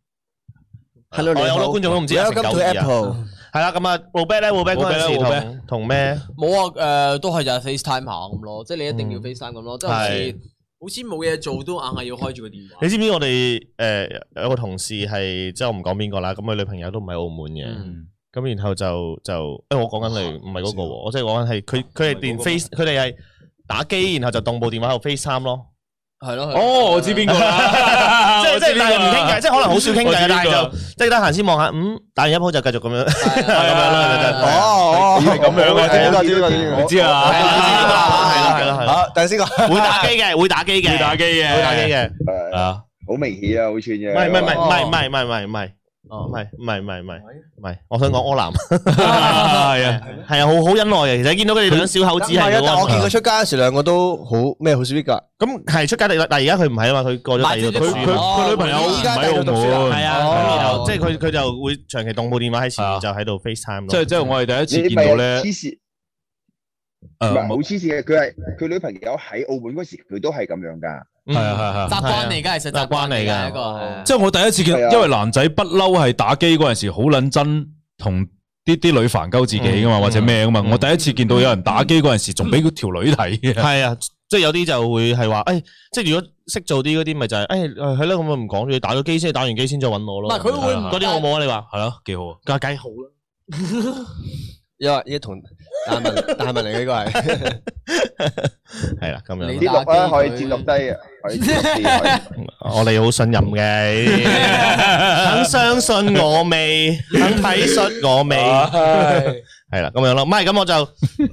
Hello， 我有好多觀眾都唔知阿成 Welcome 九 to 二啊。 Apple。 係啦，咁啊 Robert 咧 Robert 嗰陣時 Robert 同同咩？ 冇啊，誒都係就係 FaceTime 下咁咯，即係你一定要 FaceTime 咁咯，即係好似係好似冇嘢做都硬係要開住個電話。 你知唔知我哋誒有個同事係即係我唔講邊個啦，咁佢女朋友都唔喺澳門嘅。咁然後就就，誒我講緊你唔係嗰個喎，我即係講緊係佢佢係連 Face 佢哋係打機，然後就動部電話喺度 FaceTime 咯。 係咯， 哦，我知邊個啦， 即係即係但係唔傾偈，即係可能好少傾偈，但係就就即係得閒先望下，嗯，打完一鋪就繼續咁樣。 哦哦， 係咁樣嘅， 知個知個知個， 知啊， 係啦係啦係啦， 好，等先個， 會打機嘅，會打機嘅， 會打機嘅， 會打機嘅。 誒， 啊， 好明顯啊，好串嘅。 唔係唔係唔係唔係唔係唔係唔係唔係。哦，唔係唔係唔係唔係唔係，我想講柯南， 係啊， 係啊，好好恩愛嘅。其實見到佢哋兩小口子係係啊，但我見佢出街嗰時兩個都好咩，好 sweet 噶。 咁係出街，但但而家佢唔係啊嘛，佢過咗第二度讀佢佢書嘛。 佢女朋友唔喺澳門， 係啊，咁然後即係佢佢就會長期動部電話喺前面，就喺度 FaceTime 咯。 即係即係我哋第一次你咪見到咧黐，線，唔誒係好黐線嘅。佢係佢女朋友喺澳門嗰時，佢都係咁樣㗎。 係啊係係。 習慣嚟㗎，其實習慣嚟㗎一個係。 即係我第一次見， 係啊因為男仔不嬲係打機嗰陣時好撚真，同啲啲女煩鳩自己噶嘛，或者咩噶嘛。我第一次見到有人打機嗰陣時，仲俾條女睇嘅。 係啊，即係有啲就會係話，誒，即係如果識做啲嗰啲，咪就係，誒，係咯，咁我唔講住，打咗機先，打完機先再揾我咯。 唔係佢會嗰啲好冇啊？你話係咯，幾好啊！ 梗係好啦。 因為呢同大文大文嚟嘅呢個係， 係啦，咁樣。 啲錄咧可以截錄低嘅，可以截錄低嘅。 我哋好信任嘅，肯相信我未，肯體恤我未，係啦，咁樣咯。唔係咁我就，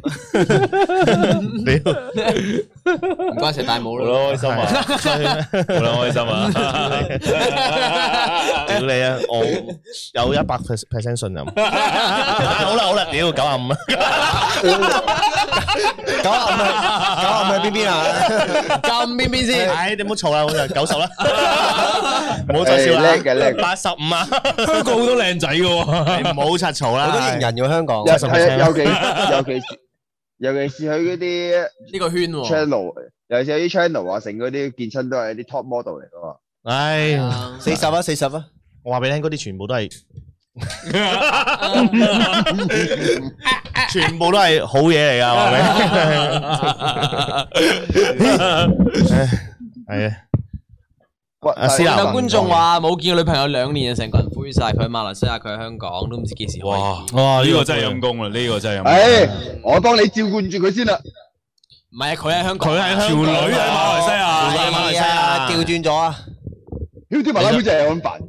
唔該食大帽好咯。 啦，開心啊！好啦，開心啊！ 屌你啊！我有一百 percent 信任。好啦好啦，屌九啊五啊！ 九啊五係九啊五喺邊邊啊？ 咁邊邊先？ 唉，你唔好嘈啦，好就九十啦，唔好再笑啦。 叻嘅叻嘅八十五啊！ 香港好多靚仔嘅喎， 你唔好柒嘈啦。 好多型人嘅香港， 係啊，尤其尤其是尤其是佢嗰啲呢個圈喎。 channel，尤其是有啲 channel 啊，成嗰啲健身都係啲 top model 嚟噶嘛。 唉， 四十啊四十啊， 我話俾你聽，嗰啲全部都係，全部都係好嘢嚟噶，話俾你聽。係啊。阿思南有觀眾話冇見過女朋友兩年，成個人灰晒。佢喺馬來西亞，佢喺香港，都唔知幾時開。 哇哇！呢個真係陰公啦，呢個真係陰公。 誒，我幫你照顧住佢先啦。 唔係啊，佢喺香港， 佢喺香港條女喺馬來西亞， 喺馬來西亞調轉咗啊！ 屌啲麻甩妹真係咁煩。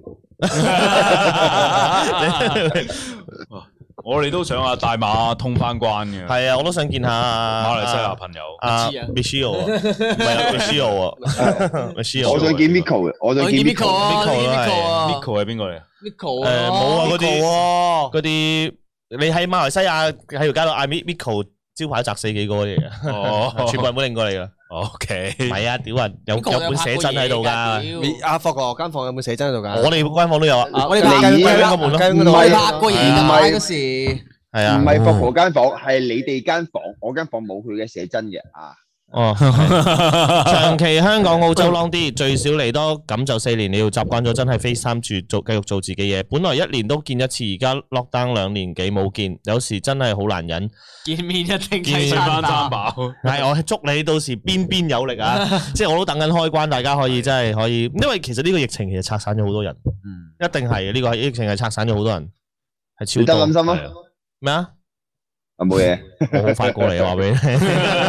我哋都想阿大馬通翻關嘅。 係啊，我都想見下馬來西亞朋友。 阿唔知啊 Michelle 啊，唔係啊 Michelle 啊，Michelle。 我想見 Miko 嘅，我想見我見 Miko Miko。 啊 Miko 啊 ，Miko 啊 Miko 係邊個嚟啊？ ，Miko 誒冇啊，嗰啲啲嗰啲，你喺馬來西亞喺條街度嗌 Miko 招牌砸死幾個嚟嘅， 哦全部人本領過嚟噶。 ，OK。 唔係啊，屌啊，有有本寫真喺度噶。 阿霍哥間房有冇寫真喺度㗎？ 我哋官房都有啊。 我哋雞你雞雞嗰門咯雞嗰度唔係拍過嘢㗎嘛嗰時。 係啊。 唔係霍哥間房，係你哋間房，我間房冇佢嘅寫真嘅啊。 哦，長期香港澳洲 long 啲，最少嚟多咁就四年，你要習慣咗真係 FaceTime 住做，繼續做自己嘢。本來一年都見一次，而家 lockdown 兩年幾冇見，有時真係好難忍。 見面一定見睇翻三餐飽。 飽。 係，我祝你到時邊邊有力啊！即係我都等緊開關，大家可以真係可以，因為其實呢個疫情其實拆散咗好多人，一定係呢個疫情係拆散咗好多人，係超多。 你得諗心啊！ 咩啊？ 啊冇嘢， 我好快過嚟話俾你聽。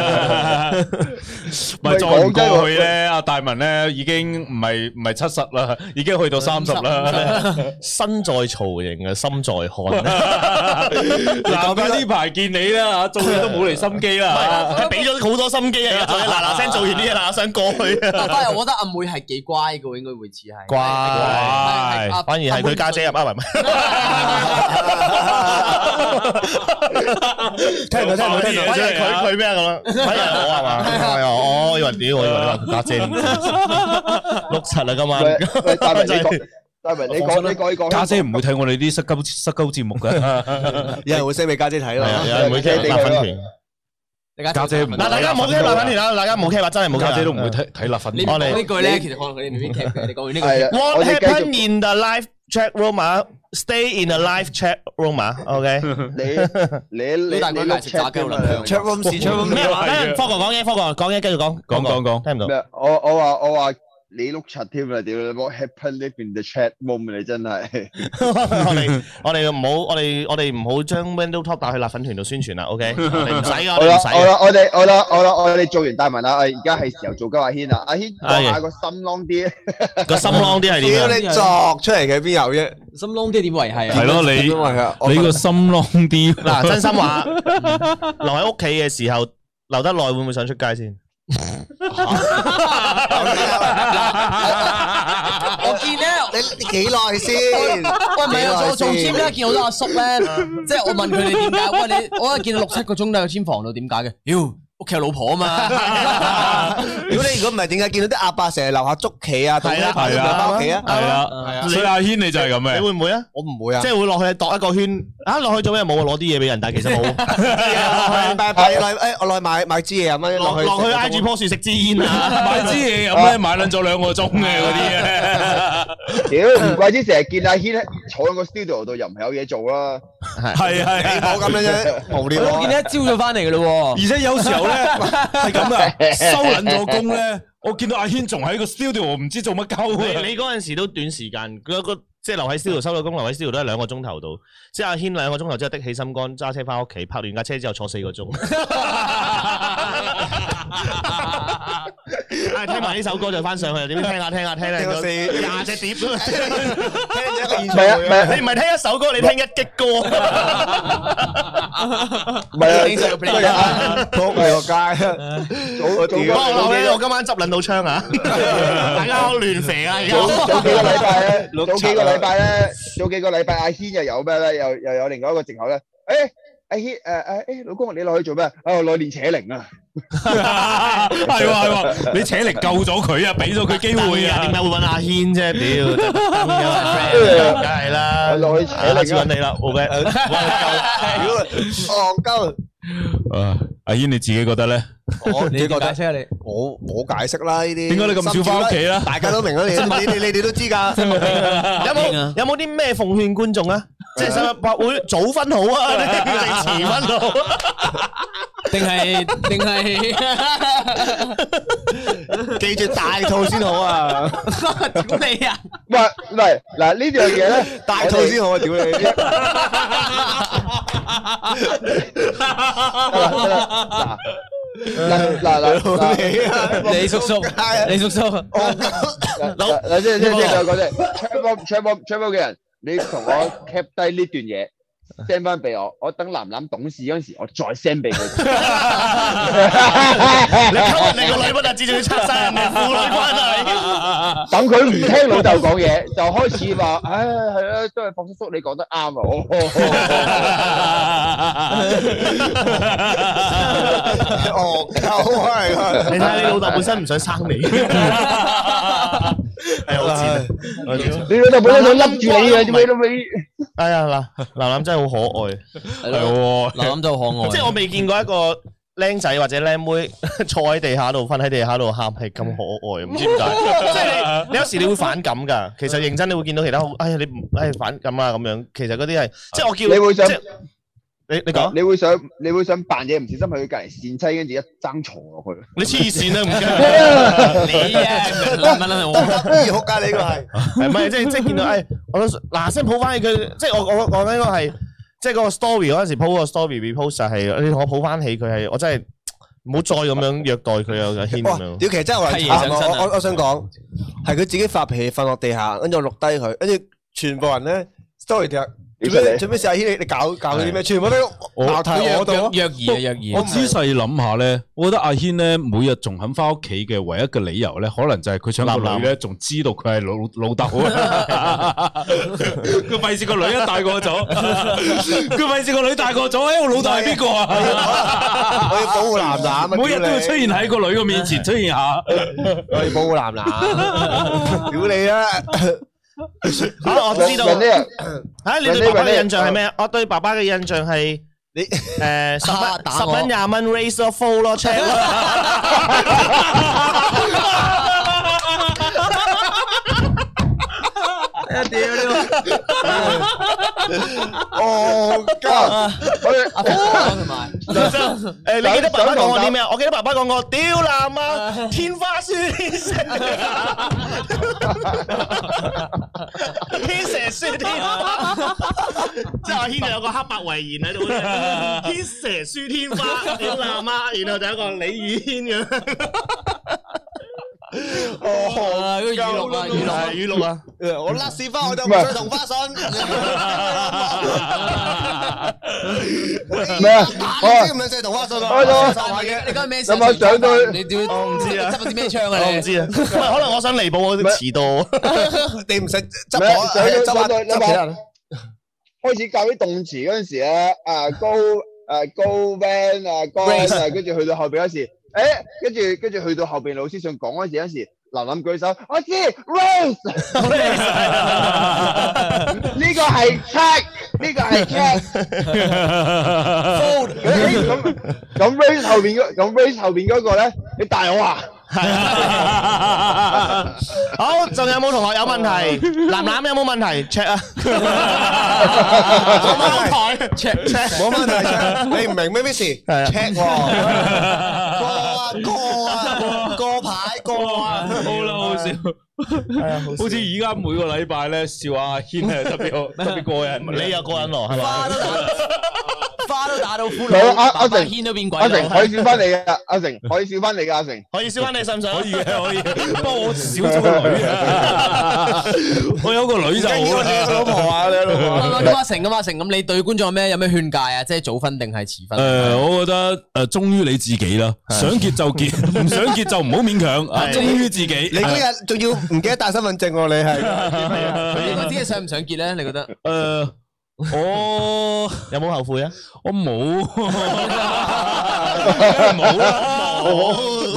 唔係再唔過去咧，阿大文咧已經唔係唔係七十啦，已經去到三十啦。 身在曹營啊，心在漢。 嗱，呢排見你啦，做嘢都冇嚟心機啦， 係俾咗好多心機啊！做嘢嗱嗱聲做完啲嘢嗱，想過去啊。 但係我覺得阿妹係幾乖嘅，應該會似係。 乖，反而係佢家姐入啊，唔係唔係。聽唔到，聽唔到，聽唔到。反而佢佢咩咁樣？反而我係嘛？係啊，我以為屌，我以為你話家姐六七啊，今晚。 喂，大文你講，大文你講，你講，你講。 家姐唔會睇我哋啲失鳩失鳩節目嘅， 有人會 send 俾家姐睇咯， 有人會聽辣粉團。 家姐唔， 嗱，大家唔好聽辣粉團啦，大家唔好聽話，真係冇家姐都唔會睇睇辣粉團。 我哋呢句咧，其實可能佢哋未必聽嘅。你講完呢句。 係啊， What 我哋繼 happened 續。 in the live chat room 啊？Stay in the live chat room 啊？OK。 你你你你大概你碌食炸雞好啦 chat room 是 chat room 咩話？等科哥講嘢，科哥講嘢，繼續講， 講講講聽唔到。 咩？我我話我話你碌柒添啊！屌你，what happened in the chat room 你真係。 我哋我哋唔好，我哋我哋唔好將 Window Top 帶去辣粉團度宣傳啦。OK，我哋唔使噶，我好啦哋唔使嘅。 好啦，我哋好啦好啦，我哋做完大文啦，我而家係時候做鳩阿軒啦。阿軒講下個心啷啲。 個心啷啲係點樣？ 屌你作出嚟嘅邊有啫？ 心窿啲點維係啊？ 係咯，你你個心啷啲。 嗱，真心話，留喺屋企嘅時候留得耐，會唔會想出街先？ 我見咧， 你幾耐先？ 喂唔係啊，我做 gym 咧，見好多阿叔咧，即係我問佢哋點解？喂你，我一見到六七個鐘都喺 gym 房度，點解嘅？妖屋企有老婆啊嘛！ 如果你如果唔係點解見到啲阿伯成日樓下捉棋啊？ 係啊係啊，翻屋企啊？ 係啊，所以阿軒你就係咁你嘅。 會唔會啊？ 我唔會啊即。係會落去度一個圈啊！落去做咩？冇啊，攞啲嘢俾人，但係其實冇。 拜拜落去，誒我落去買買支嘢咁樣落落去落去挨住棵樹食支煙啊！ 買支嘢咁咧，買撚咗兩個鐘嘅嗰啲咧。 屌，唔怪之成日見阿軒坐喺個 studio 度，又唔係有嘢做啦。 係係你冇咁樣啫，無聊。 我見你一朝早翻嚟嘅咯而且有時候咧係咁啊，收撚咗工咧，我見到阿軒仲喺個 studio，我唔知做乜鳩你啊。 你嗰陣時都短時間，佢個即係留喺 studio 收到工，留喺 studio 都係兩個鐘頭度。即係阿軒兩個鐘頭之後的起心肝，揸車翻屋企，拍完架車之後坐四個鐘。唉，聽埋呢首歌就翻上去，點樣聽下聽下聽下， 聽個四廿隻碟。 聽咗一個現唔係啊，唔係你唔係聽一首歌，你聽一擊歌。 唔係啊， 仆你個街， 早早我我我今晚執撚到槍啊！大家好亂肥啊！而家早早幾個禮拜咧，早幾個禮拜咧，早幾個禮拜阿軒又有咩咧？又又有另外一個藉口咧。誒，阿軒誒誒誒，老公你落去做咩？啊，落去練扯鈴啊！ 係喎係喎，你扯嚟救咗佢啊，俾咗佢機會啊。 點解會揾阿軒啫？屌，梗係啦， 落去扯下次鈴啊！ 揾你啦，O K。 戇鳩。 啊，阿軒你自己覺得咧？ 我你你覺得解釋下你？ 我我解釋啦呢啲。 點解你咁少返屋企啦大家都明啦，你你你你哋都知㗎。 有冇有冇啲咩奉勸觀眾啊？即係想拍會早分好啊，定遲分好？ 定係定係記住大套先好啊！ 屌你啊！ 唔係唔係嗱呢樣嘢咧， 大套先好啊！屌你！ 嗱嗱嗱嗱， 你叔叔，你叔叔， 嗱嗱即係即係即係講即係 check box check box check box 嘅人，你同我 cap 低呢段嘢 send 翻俾我，我等楠楠懂事嗰陣時，我再 send 俾佢。 你溝人哋個女不特止，仲要拆晒人哋父女關係。 等佢唔聽老豆講嘢，就開始話：，唉，係啦，都係霍叔叔你講得啱啊！ 哦，鳩係啊！ 你睇下你老豆本身唔想生你，係好賤。 你老豆本身想笠住你嘅，做咩都未？ 哎呀嗱，楠楠真係好可愛， 係喎，嗱咁就可愛。 即係我未見過一個僆仔或者僆妹坐喺地下度瞓喺地下度喊係咁可愛，唔知點解。即係你你有時你會反感㗎。其實認真你會見到其他好，哎呀你唔哎反感啊咁樣。其實嗰啲係即係我叫你會想即係你你講， 你會想你會想扮嘢唔小心去佢隔離跣妻，跟住一爭床落去。 你黐線啊唔驚。 你啊，唔係我。 咦，好街你呢個係係咪即係即係見到誒，我都嗱聲抱翻起佢，即係我我講緊呢個係即係嗰個 story 嗰陣時 po 個 story repost 就係你同我抱翻起佢係，我真係唔好再咁樣虐待佢啊！阿軒咁樣。 屌，其實真係我嚟慘啊！我我我想講係佢自己發脾氣瞓落地下，跟住我錄低佢，跟住全部人咧 story 條。做咩做咩事？阿軒你你搞搞佢啲咩？全部都鬧題我度。 約兒啊約兒。 我仔細諗下咧，我覺得阿軒咧每日仲肯翻屋企嘅唯一嘅理由咧，可能就係佢想個女咧仲知道佢係老老豆啊！佢費事個女一大個咗，佢費事個女大個咗，誒我老豆係邊個啊？ 我要保護男男啊！ 每日都要出現喺個女嘅面前出現下， 我要保護男男。屌你啊！ 啊！我知道。啊！你對爸爸嘅印象係咩？我對爸爸嘅印象係你誒十蚊十蚊廿蚊 raise 咗 full 咯 check 咯。 屌你！ 哦，家我哋阿婆同埋誒，你記得爸爸講過啲咩啊？我記得爸爸講過，屌男啊，天花輸天蛇，天蛇輸天花，即係阿軒就有個黑白遺言喺度，天蛇輸天花，屌男啊，然後就有一個李宇軒咁。 哦，語錄啊，語錄啊， 語錄啊！ 我甩屎花我就唔想同花順。 咩啊？ 打機唔想同花順啊！ 你講咩？ 有冇上到去？ 你屌， 我唔知啊， 執咗啲咩槍啊？ 我唔知啊，可能我想彌補我遲到。 你唔使執咩我， 上到上到執你話開始教啲動詞嗰陣時咧，啊高啊高 van 啊高啊，跟住去到後邊嗰時。誒，跟住跟住去到後邊老師想講嗰時，嗰時林林舉手，我知 Rose， 呢個係 check， 呢個係 check， 咁咁 Rose 後邊嗰咁 Rose 後邊嗰個咧，你大我啊？ 好，仲有冇同學有問題？男男有冇問題 ？check 啊，冇問題 ，check check， 冇問題。你唔明咩咩事 ？check 喎，過啊過啊過牌過啊， 好啦，好笑，好似而家每個禮拜咧笑阿軒係特別特別過癮， 你又過癮喎，係嘛？ 花都打到骷好髏， 阿阿成軒都變鬼。 阿成可以笑翻你嘅，阿成可以笑翻你嘅，阿成可以笑翻你，信唔信？ 可以嘅，可以。不過我少咗個女啊，我有個女就好啦。 老婆啊，你老婆。 咁阿成咁阿成咁，你對觀眾有咩有咩勸誡啊？即係早婚定係遲婚？ 誒，我覺得誒，忠於你自己啦，想結就結，唔想結就唔好勉強啊，忠於自己。 你嗰日仲要唔記得帶身份證喎？你係你嗰啲想唔想結咧？你覺得？ 誒。我有冇後悔啊？ 我冇，冇啦， 冇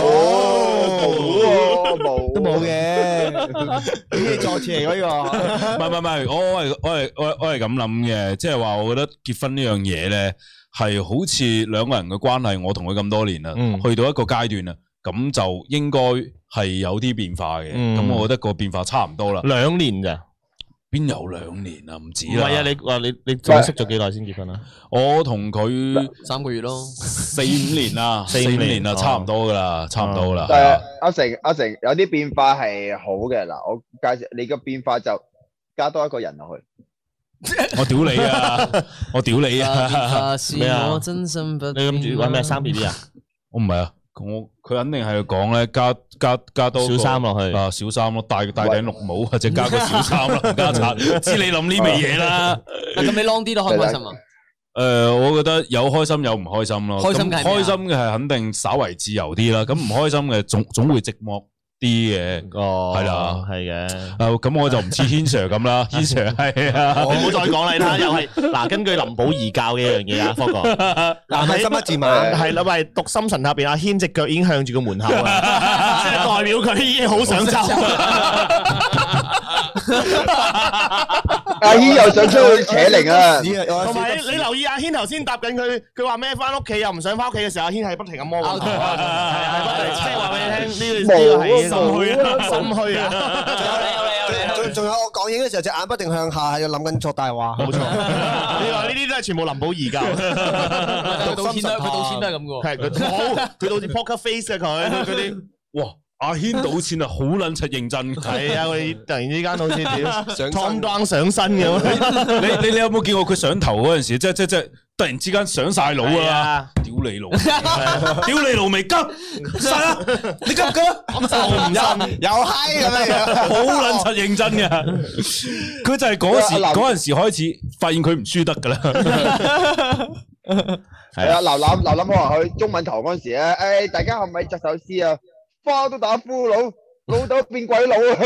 冇冇都冇嘅，呢啲作詞嚟嗰個。 唔係唔係唔係，我我係我係我我係咁諗嘅，即係話我覺得結婚呢樣嘢咧，係好似兩個人嘅關係，我同佢咁多年啦， 嗯、 去到一個階段啦，咁就應該係有啲變化嘅，咁、嗯、我覺得個變化差唔多啦。 兩年咋？邊有兩年啊？唔止啦。 唔係啊！你話你你仲識咗幾耐先結婚啊？ 我同佢三個月咯， 四五年啦，四五年啦，差唔多噶啦，差唔多啦。 但係阿成阿成有啲變化係好嘅嗱，我介紹你個變化就加多一個人落去。 我屌你啊！我屌你啊！ 咩啊？ 你諗住搵咩生 B B 啊？ 我唔係啊。我佢肯定係講咧，加加加多小三落去啊，小三咯，戴戴頂綠帽或者加個小三啦，加擦，知你諗呢味嘢啦。 咁你 long 啲都開唔開心啊？ 誒，我覺得有開心有唔開心咯。 開心嘅開心嘅係肯定稍為自由啲啦，咁唔開心嘅總總會寂寞啲嘅。 哦， 係啦， 係嘅。 誒，咁我就唔似軒 Sir 咁啦，軒 Sir 係啊， 唔好再講啦，你睇下又係嗱，根據林保怡教嘅一樣嘢啊，科哥， 嗱喺心一字馬， 係啦，喂，讀心神入邊，阿軒隻腳已經向住個門口啦，即係代表佢已經好想走。 阿軒又想出去扯鈴啊！ 同埋你留意阿軒頭先答緊佢，佢話咩翻屋企又唔想翻屋企嘅時候，阿軒係不停咁摸個頭啊，係係，即係話俾你聽呢個呢個係心虛啊，心虛啊。 仲仲有我講嘢嘅時候，隻眼不定向下，係要諗緊作大話。冇錯， 你話呢啲都係全部林保怡教。 佢賭錢都佢賭錢都係咁嘅。 係佢好，佢好似 poker face 啊佢嗰啲。 哇！ 阿軒賭錢啊，好撚柒認真。 係啊，佢突然之間好似屌上 Tom Down 上身咁。 你你你有冇見過佢上頭嗰陣時，即係即係即係突然之間上晒腦係啊！ 啊， 屌你老，屌你老味急晒啦！你急唔急啊？ 我唔信， 又嗨咁樣， 好撚柒認真嘅，佢就係嗰時阿林嗰陣時開始發現佢唔輸得噶啦。 係啊，劉諗劉諗可能去中文堂嗰陣時咧，誒，大家係咪作首詩啊？花都打俘虜，老豆變鬼佬啊！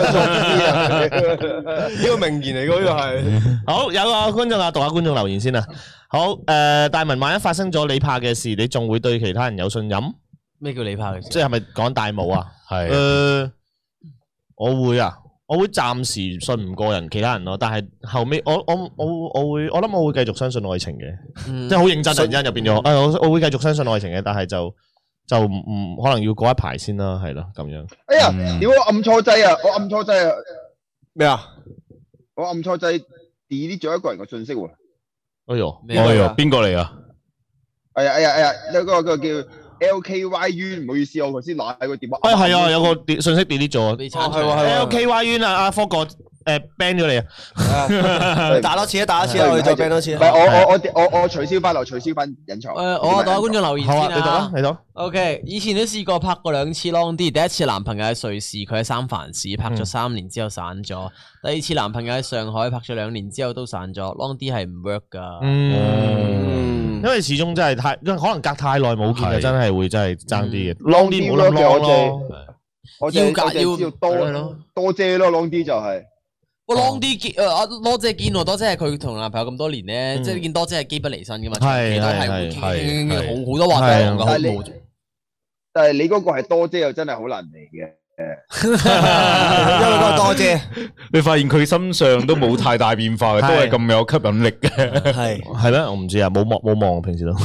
呢個名言嚟嘅呢個係。 好，有個觀眾啊，讀下觀眾留言先啊。好，誒，大文，萬一發生咗你怕嘅事，你仲會對其他人有信任？ 咩叫你怕嘅事？ 即係咪講大帽啊？ 係誒，我會啊，我會暫時信唔過人，其他人咯。但係後尾，我我我我會，我諗我會繼續相信愛情嘅，即係好認真，突然間就變咗。誒，我我會繼續相信愛情嘅，但係就就唔唔可能要過一排先啦，係咯，咁樣。 哎呀，屌我按錯掣啊！我按錯掣啊！ 咩啊？ 我按錯掣 delete 咗一個人嘅信息喎。 哎呦， 哎呀，邊個嚟啊？ 哎呀哎呀哎呀，有個個叫 L K Y U， 唔好意思，我頭先攞喺個電話。 哎係啊，有個電信息 delete 咗。 被鏟除係喎係喎 L K Y U 啊，阿科哥誒 ban 咗你啊！ 打多次啊，打多次啊，我哋再 ban 多次啊。 唔係我我我我我取消翻，我取消翻隱藏。 誒，我讀下觀眾留言好啊， 先你讀啊啦，。 你讀。 O K， 以前都試過拍過兩次 long D，第一次男朋友喺瑞士，佢喺三藩市拍咗三年之後散咗；第二次男朋友喺上海拍咗兩年之後都散咗。long D 係唔 work 噶。 嗯，因為始終真係太，可能隔太耐冇見啊， 係真係會真係爭啲嘅。 long D D 冇諗 long 我淨咯。 我淨要格要我淨知道係咯多多姐咯，long D 就係。 喂 long D 見誒阿多姐見喎，多姐係佢同男朋友咁多年咧，即係見多姐係機不離身噶嘛， 係長期都係係會係係好好多話題講但係你㗎。 但係你嗰個係多姐又真係好難嚟嘅。 因為嗰個多姐你發現佢身上都冇太大變化嘅，都係咁有吸引力嘅。 係係咩？我唔知啊，冇望冇望，平時都。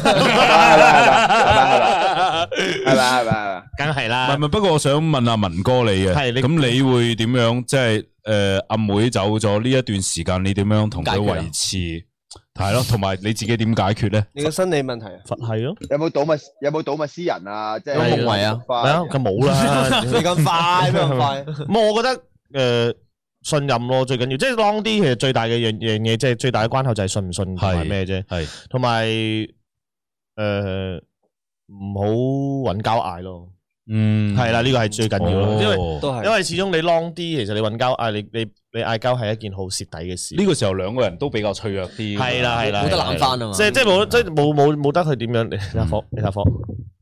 係咪係咪係咪？ 唔係梗係啦唔。係，不過我想問阿文哥你嘅， 係你咁你會點樣？即係誒阿妹走咗呢一段時間，你點樣同佢解決啊維持？係咯，同埋你自己點解決咧？ 你個心理問題啊。 佛系咯。 有冇睹物有冇睹物思人啊？即係有夢遺啊係啊，佢冇啦。 你咁快咩咁快？ 冇，我覺得誒信任咯，最緊要。即係 long 啲，其實最大嘅樣樣嘢，即係最大嘅關口就係信唔信同埋咩啫。 係同埋誒唔好揾交嗌咯。 嗯， 係啦，呢個係最緊要咯，因為哦都係因為始終你 long 啲，其實你揾交嗌，你你你嗌交係一件好蝕底嘅事。 呢個時候兩個人都比較脆弱啲。 係啦係啦， 冇得攬返啊嘛即係即係冇即係冇冇冇得佢點樣？你睇下科，你睇下科。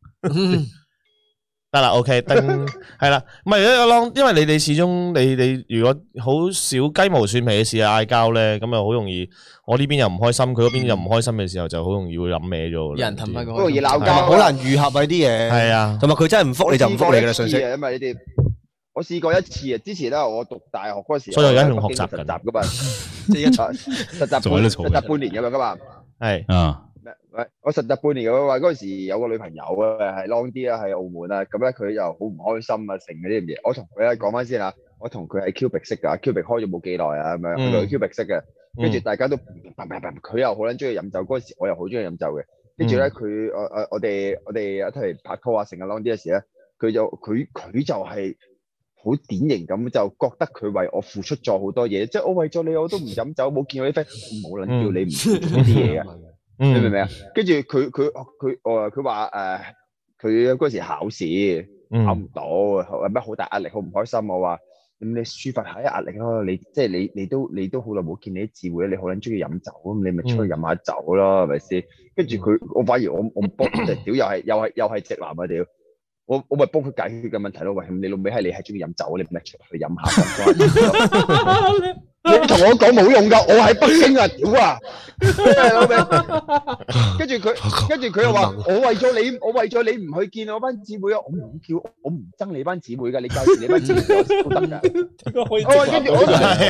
得啦，OK，登係啦，唔係一個 long，因為你哋始終你你如果好少雞毛蒜皮嘅事嗌交咧，咁啊好容易，我呢邊又唔開心，佢嗰邊又唔開心嘅時候，就好容易會諗歪咗。 有人氹翻好容易鬧係交， 好難愈合啊呢啲嘢。 係啊， 同埋佢真係唔覆你就唔覆你噶啦信息。 因為你哋我試過一次啊，之前咧我讀大學嗰時， 所以我而家仲學習緊實習噶嘛， 即係一場實習仲喺度嘈半實習半年咁樣噶嘛。 係啊， 喂，我實習半年咁話，嗰陣時有個女朋友啊，係 long 啲啦，喺澳門啦，咁咧佢又好唔開心啊，成嗰啲咁嘢。我同佢咧講翻先啊，我同佢係 Cubic 識噶，Cubic 開咗冇幾耐啊，咁樣嗯佢 Cubic 識嘅，跟住大家都佢又好撚中意飲酒，嗰陣時我又好中意飲酒嘅，跟住咧佢我我我哋我哋一齊拍拖啊，成日 long 啲嘅時咧，佢就佢佢就係好典型咁，就覺得佢為我付出咗好多嘢，即係我為咗你我都唔飲酒，冇見我啲 friend，冇撚叫你唔付出啲嘢嘅。你明唔明啊？跟住佢佢佢我佢話誒，佢嗰時考試考唔到，有咩好大壓力，好唔開心。我話咁你抒發下啲壓力咯。你即係你你都你都好耐冇見你啲姊妹，你好撚中意飲酒，咁你咪出去飲下酒咯，係咪先？跟住佢我反而我我幫就屌又係又係又係直男啊屌！我我咪幫佢解決嘅問題咯。喂，你老味係你係中意飲酒，你咪出去飲下。你同我講冇用噶，我喺北京啊，屌啊！老味，跟住佢，跟住佢又話：我為咗你，我為咗你唔去見我班姊妹啊！我唔叫，我唔憎你班姊妹噶，你介紹你班姊妹都得噶。我跟住我，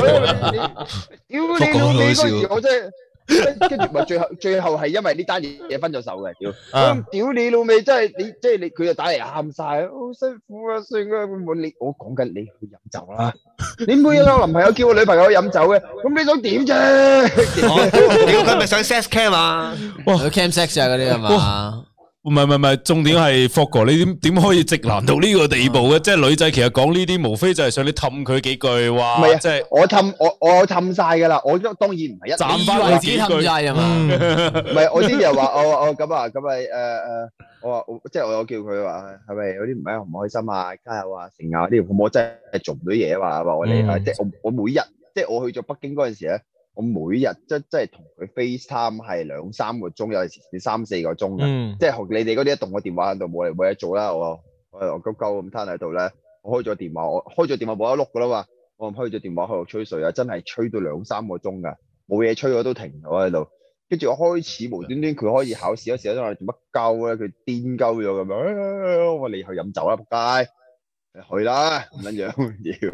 屌你老味嗰時，我真係。跟住咪最後最後係因為呢單嘢分咗手嘅，屌！我屌你老味，真係你即係你佢就打嚟喊晒，好辛苦啊，算啦，我你我講緊你去飲酒啦，你每日有男朋友叫我女朋友飲酒嘅，咁你想點啫？ 屌佢咪上 sex cam 啊？ 哇，cam sex 啊嗰啲係嘛？ 唔係唔係唔係，重點係霍哥，你點點可以直男到呢個地步嘅？即係女仔其實講呢啲，無非就係想你氹佢幾句話， 唔係啊即係我氹我我氹晒噶啦，我都當然唔係一斬以翻為自己氹晒啊嘛？ 唔係我之前又話我我咁啊咁啊誒誒，我話我即係我有叫佢話係咪有啲唔係唔開心啊，加油啊成啊呢啲，我真係做唔到嘢啊嘛，話我哋啊即係我我每日即係我去咗北京嗰陣時咧。我每日即即係同佢 FaceTime 係兩三個鐘，有陣時三四個鐘嘅， 嗯即係學你哋嗰啲一動個電話喺度冇嚟冇嘢做啦，我我我鳩鳩咁攤喺度咧，我開咗電話，我開咗電話冇得碌噶啦嘛，我開咗電話喺度吹水啊，真係吹到兩三個鐘噶，冇嘢吹我都停咗喺度，跟住我開始無端端佢可以考試嗰時咧，我做乜鳩咧？佢癲鳩咗咁樣，我話你去飲酒啦，仆街！去啦，唔撚樣要。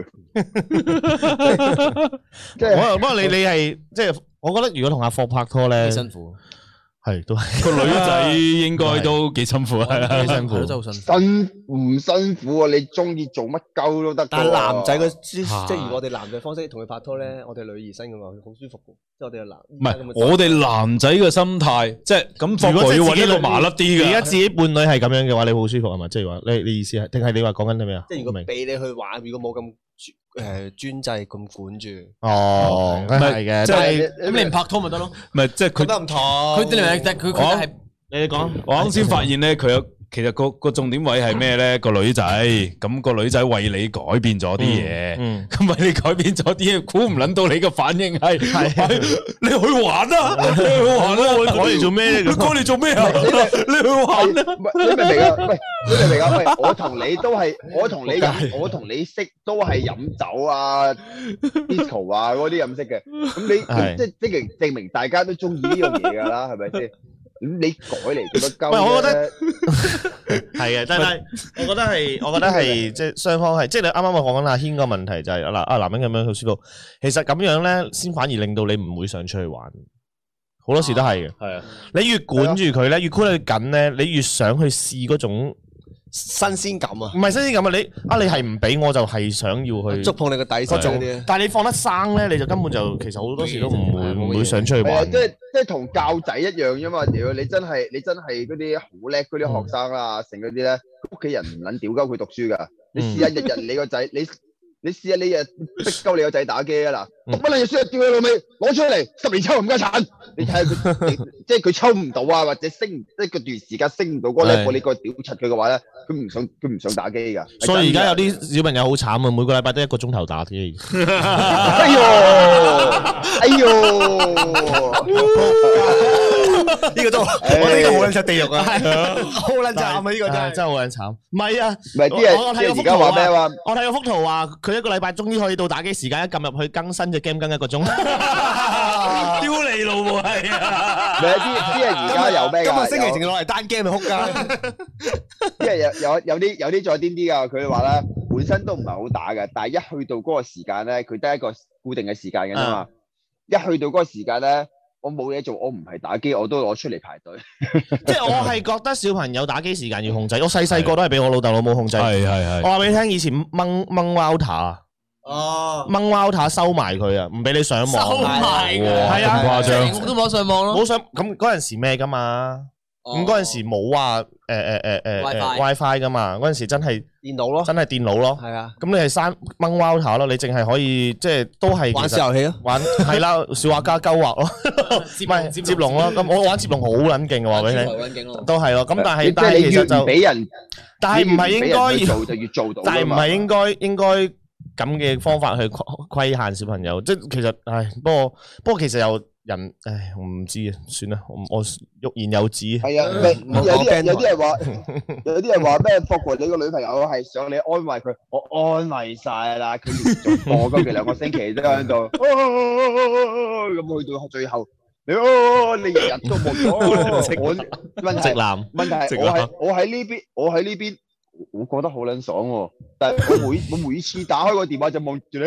即係，不過你你係即係，我覺得如果同阿霍拍拖咧， 幾辛苦， 係都係個女仔應該都幾辛苦啊， 幾辛苦， 真係好辛苦。 辛唔辛苦啊？你中意做乜鳩都得㗎喎。 但係男仔嘅即係如果我哋男仔方式同佢拍拖咧，我哋女兒身嘅話，好舒服嘅。即係我哋男唔係我哋男仔嘅心態，即係咁。 如果要自己揾一個麻甩啲嘅， 而家自己伴侶係咁樣嘅話，你好舒服係嘛？即係話你你意思係，定係你話講緊啲咩啊？ 即係如果俾你去玩，如果冇咁誒專制咁管住。 哦，係嘅， 即係咁你唔拍拖咪得咯？ 唔係即係佢覺得唔同。 佢哋嚟，但係佢佢係你講。 我啱先發現咧，佢有其實個個重點位係咩咧？個女仔咁個女仔為你改變咗啲嘢， 嗯， 咁為你改變咗啲嘢，估唔撚到你嘅反應係你去玩啊！你去玩啊！ 我改嚟做咩？ 你改嚟做咩啊？你去玩啊！ 唔係你明唔明啊？喂，你明唔明啊？喂，我同你都係，我同你飲，我同你識都係飲酒啊、disco 啊嗰啲飲識嘅。咁你咁即係即係證明大家都中意呢樣嘢㗎啦，係咪先？咁你改嚟做乜鳩唔係我覺啫？ 得係嘅，但係我覺得係，我覺得係即係雙方係，即係你啱啱我講緊阿軒個問題就係嗱啊男人咁樣好舒服，其實咁樣咧先反而令到你唔會想出去玩，好多時都係嘅。 係啊， 你越管住佢咧，越箍得佢緊咧，你越想去試嗰種新鮮感啊！ 唔係新鮮感啊！你啊你係唔俾我就係想要去觸碰你個底線嗰啲。 但係你放得生咧，你就根本就其實好多時都唔會唔會想出去係啊， 玩。 即係即係同教仔一樣啫嘛！屌你真係你真係嗰啲好叻嗰啲學生啦，成嗰啲咧，屋企人唔撚屌鳩佢讀書㗎。你試下日日你個仔，你你試下你日逼鳩你個仔打機啊嗱，讀乜撚嘢書啊？屌你老味，攞出嚟十年抽唔家產。你睇下佢，即係佢抽唔到啊，或者升即係嗰段時間升唔到嗰個 level，你個屌柒佢嘅話咧，佢唔想佢唔想打機㗎。 所以而家有啲小朋友好慘啊，每個禮拜得一個鐘頭打機。 哎呦，哎呦！ 呢個都，我呢個好撚出地獄啊，好撚慘啊！呢個真係真係好撚慘。唔係啊， 唔係啲人我我睇即係而家話咩話？ 我睇個幅圖話，佢一個禮拜終於可以到打機時間，一撳入去更新隻 game 更一個鐘。 丟你老母係啊！ 唔係啲啲人而家有咩㗎？ 今日星期淨係攞嚟單 game 咪哭街。 啲人有有有啲有啲再癲啲㗎，佢哋話咧本身都唔係好打嘅，但係一去到嗰個時間咧，佢得一個固定嘅時間嘅啫嘛。一去到嗰個時間咧，我冇嘢做，我唔係打機，我都攞出嚟排隊。 即係我係覺得小朋友打機時間要控制，我細細個都係俾我老豆老母控制。 係係係。 我話俾你聽，以前掹掹 router 啊， 哦， 掹 router 收埋佢啊，唔俾你上網。 收埋㗎， 係啊， 咁誇張成屋都冇上網咯。 冇上咁嗰陣時咩㗎嘛？咁嗰陣時冇話誒誒誒誒 WiFi 㗎嘛？嗰陣時真係電腦咯， 真係電腦咯。 係啊。 咁你係刪掹 router 咯，你淨係可以即係都係玩小遊戲咯， 玩係啦，小畫家勾畫咯，唔係接龍咯。咁我玩接龍好撚勁嘅話俾你聽，都係咯。咁但係但係其實就俾人， 但係唔係應該做就越做到， 但係唔係應該應該咁嘅方法去規規限小朋友。即係其實唉，不過不過其實又。人，唉，我唔知啊，算啦，我我欲言又止。 係啊，有啲人有啲人話，有啲人話咩？霍哥，你個女朋友係想你安慰佢，我安慰晒啦，佢連續播嗰幾兩個星期都喺度，咁去到最後，你你日日都冇咗。我問題直男， 問題係我喺我喺呢邊，我喺呢邊。我覺得好撚爽喎，但係我每我每次打開個電話就望住你，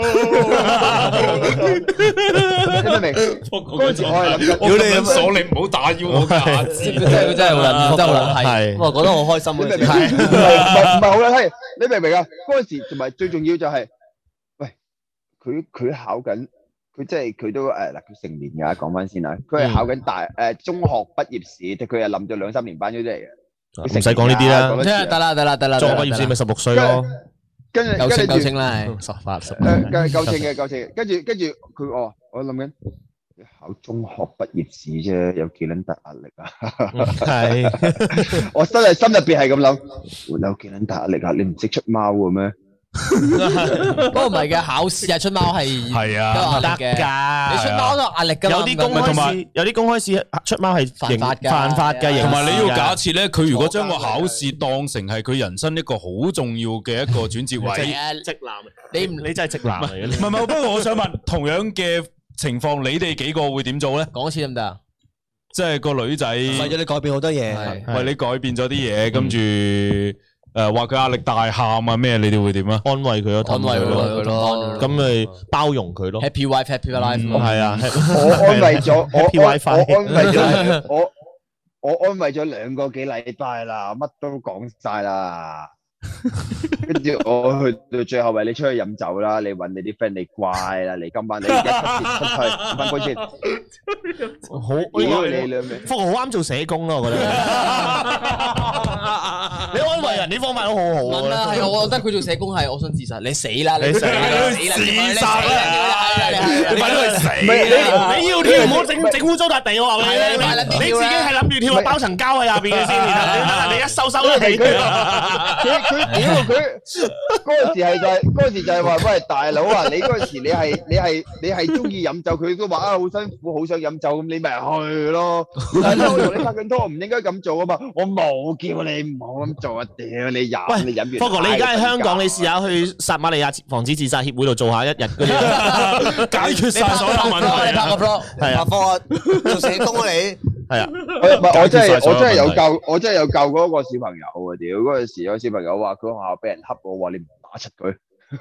你明唔明？嗰陣時我係諗緊， 如果你咁爽，你唔好打擾我㗎。 真係佢真係好撚，真係好撚係。我覺得好開心嗰陣時。 係唔係唔係好撚係？你明唔明啊？嗰陣時同埋最重要就係，喂，佢佢考緊佢即係佢都誒嗱，佢成年㗎，講翻先啦。佢係考緊大誒中學畢業試，佢係冧咗兩三年班嗰啲嚟嘅。 唔使講呢啲啦， 得啦得啦得啦。 中學畢業試咪十六歲咯， 跟住夠稱夠稱啦，係十八十。 誒夠夠稱嘅夠稱嘅，跟住跟住佢我我諗緊考中學畢業試啫，有幾撚大壓力啊？ 係， 我真係心入邊係咁諗，有幾撚大壓力啊？你唔識出貓嘅咩？ 不過唔係嘅，考試係出貓係係啊， 得嘅。你出貓都有壓力㗎嘛？ 有啲公開試，有啲公開試出貓係犯法㗎， 犯法嘅。 同埋你要假設咧，佢如果將個考試當成係佢人生一個好重要嘅一個轉折位， 直男，你唔你真係直男嚟嘅。 唔係唔係，不過我想問，同樣嘅情況，你哋幾個會點做咧？ 講一次得唔得啊？ 即係個女仔為咗你改變好多嘢， 為你改變咗啲嘢，跟住。誒，話佢壓力大喊啊咩？你哋會點啊？ 安慰佢咯， 安慰佢咯， 咁咪包容佢咯。 Happy wife, happy life。 係啊， 我安慰咗，我 Happy WiFi 我安慰咗，我我安慰咗兩個幾禮拜啦，乜都講晒啦。跟住我去到最後，為你出去飲酒啦，你搵你啲 friend，你乖啦，你今晚你一七折出去五分杯先。 好， 屌你兩味， 福豪好啱做社工咯，我覺得。你安慰人呢方法都好好啊！係，我覺得佢做社工係，我想自殺，你死啦！你死啦！ 你自殺啦！你快啲去死！ 你你要跳唔好整整污糟笪地，我話俾你聽。你自己係諗住跳個包層膠喺下邊嘅先，然後你一收收咗地。 佢屌佢嗰陣時係就係嗰陣時就係話喂大佬啊，你嗰陣時你係你係你係中意飲酒，佢都話啊好辛苦，好想飲酒，咁你咪去咯。但係我同你拍緊拖，我唔應該咁做啊嘛，我冇叫你唔好咁做啊！屌你飲，你飲完。 不過你而家喺香港，你試下去撒瑪利亞防止自殺協會度做下一日嗰啲，解決晒所有問題。 你拍個 blog， 係啊， 拍科做社工啊你。 係啊，唔係我真係我真係有教，我真係有教過一個小朋友啊！屌嗰陣時有小朋友話佢學校俾人恰我，話你唔打柒佢。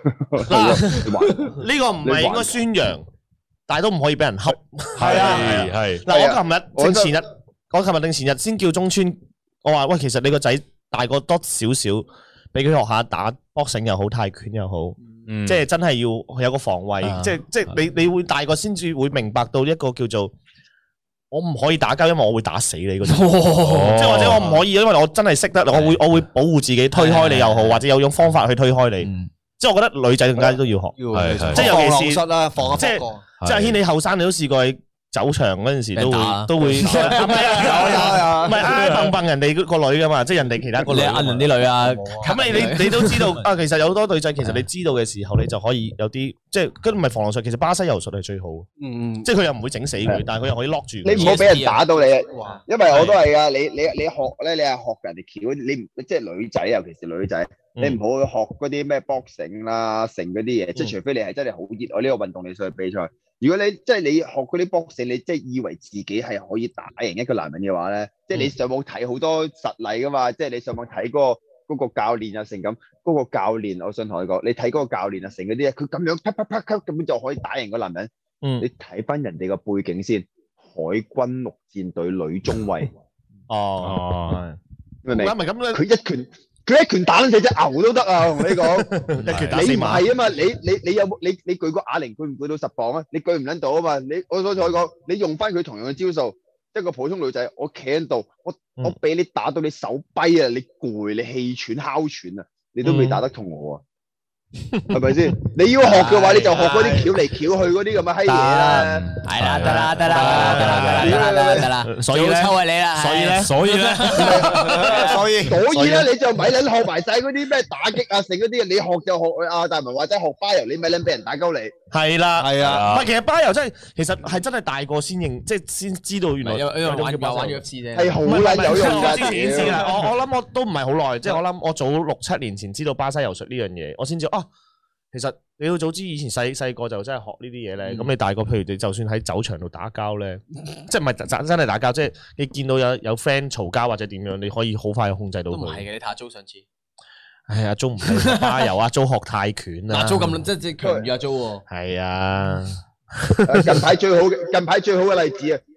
呢個唔係應該宣揚，但係都唔可以俾人恰。 係啊係。 嗱，我琴日定前日，我琴日定前日先叫中村，我話喂，其實你個仔大個多少少，俾佢學下打 boxing 又好，泰拳又好，即係真係要有個防衛，即係即係你你會大個先至會明白到一個叫做。我唔可以打交，因為我會打死你嗰種，即係或者我唔可以，因為我真係識得，我會我會保護自己，推開你又好，或者有種方法去推開你。即係我覺得女仔更加都要學，即係尤其是即係即係阿軒你後生你都試過喺走場嗰陣時都會都會，唔係啊，唔係挨蹦蹦人哋個女噶嘛，即係人哋其他個女呃人啲女啊， 咁你你你都知道啊，其實有好多女仔，其實你知道嘅時候，你就可以有啲即係跟唔係防狼術，其實巴西柔術係最好，嗯，即係佢又唔會整死佢，但係佢又可以 lock 住。 你唔好俾人打到你，因為我都係啊，你你你學咧，你係學人哋橋，你唔即係女仔，尤其是女仔，你唔好去學嗰啲咩 boxing 啦，成嗰啲嘢，即係除非你係真係好熱愛呢個運動，你上去比賽。如果你即係你學嗰啲 boxing，你即係以為自己係可以打贏一個男人嘅話咧，即係你上網睇好多實例噶嘛，即係你上網睇嗰個嗰個教練啊，成咁嗰個教練，我想同你講，你睇嗰個教練啊，成嗰啲佢咁樣啪啪啪啪根本就可以打贏個男人。嗯，你睇翻人哋個背景先，海軍陸戰隊女中尉。哦，明唔明？佢一拳。佢一拳打撚死隻牛都得啊！我同你講，一拳打死馬。你唔係啊嘛？你你你有冇你你舉個啞鈴舉唔舉到十磅啊？你舉唔撚到啊嘛？你我想同你講，你用翻佢同樣嘅招數，一個普通女仔，我企喺度，我我俾你打到你手跛啊！你攰，你氣喘哮喘啊！你都未打得痛我啊！係咪先？你要學嘅話，你就學嗰啲翹嚟翹去嗰啲咁嘅閪嘢啦。係啦，得啦，得啦，得啦，得啦，得啦。 所以咧， 抽係你啦。 所以咧， 所以咧， 所以所以咧，你就咪撚學埋晒嗰啲咩打擊啊，成嗰啲，你學就學啊，大文或者學巴柔，你咪撚俾人打鳩你。 係啦， 係啊。 唔係，其實巴柔真係，其實係真係大個先認，即係先知道原來因為玩玩咗一次啫。 係好撚有用㗎。 之前已經知啦，我我諗我都唔係好耐，即係我諗我早六七年前知道巴西柔術呢樣嘢，我先知啊。其實你要早知以前細細個就真係學呢啲嘢咧，咁、嗯、你大個，譬如你就算喺酒場度打交咧，即係唔係真真係打交，即係你見到有有 friend 嘈交或者點樣，你可以好快控制到佢。 都唔係嘅，你睇下租上次。 係啊，租唔係巴柔啊，租學泰拳啊。 阿租咁即係強於阿租喎。 係啊。 近排最好嘅近排最好嘅例子啊，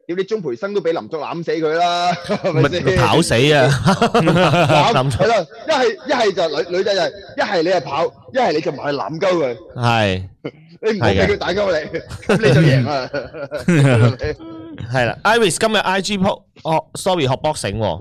屌你鐘培生都俾林作攬死佢啦，係咪先？ 咪跑死啊！ 攬係啦，一係一係就女女仔就係一係你係跑，一係你就埋去攬鳩佢。 係你唔好俾佢打鳩你，咁你就贏啦。 係啦 ，Iris 今日 I G post 哦 ，sorry 學 boxing 喎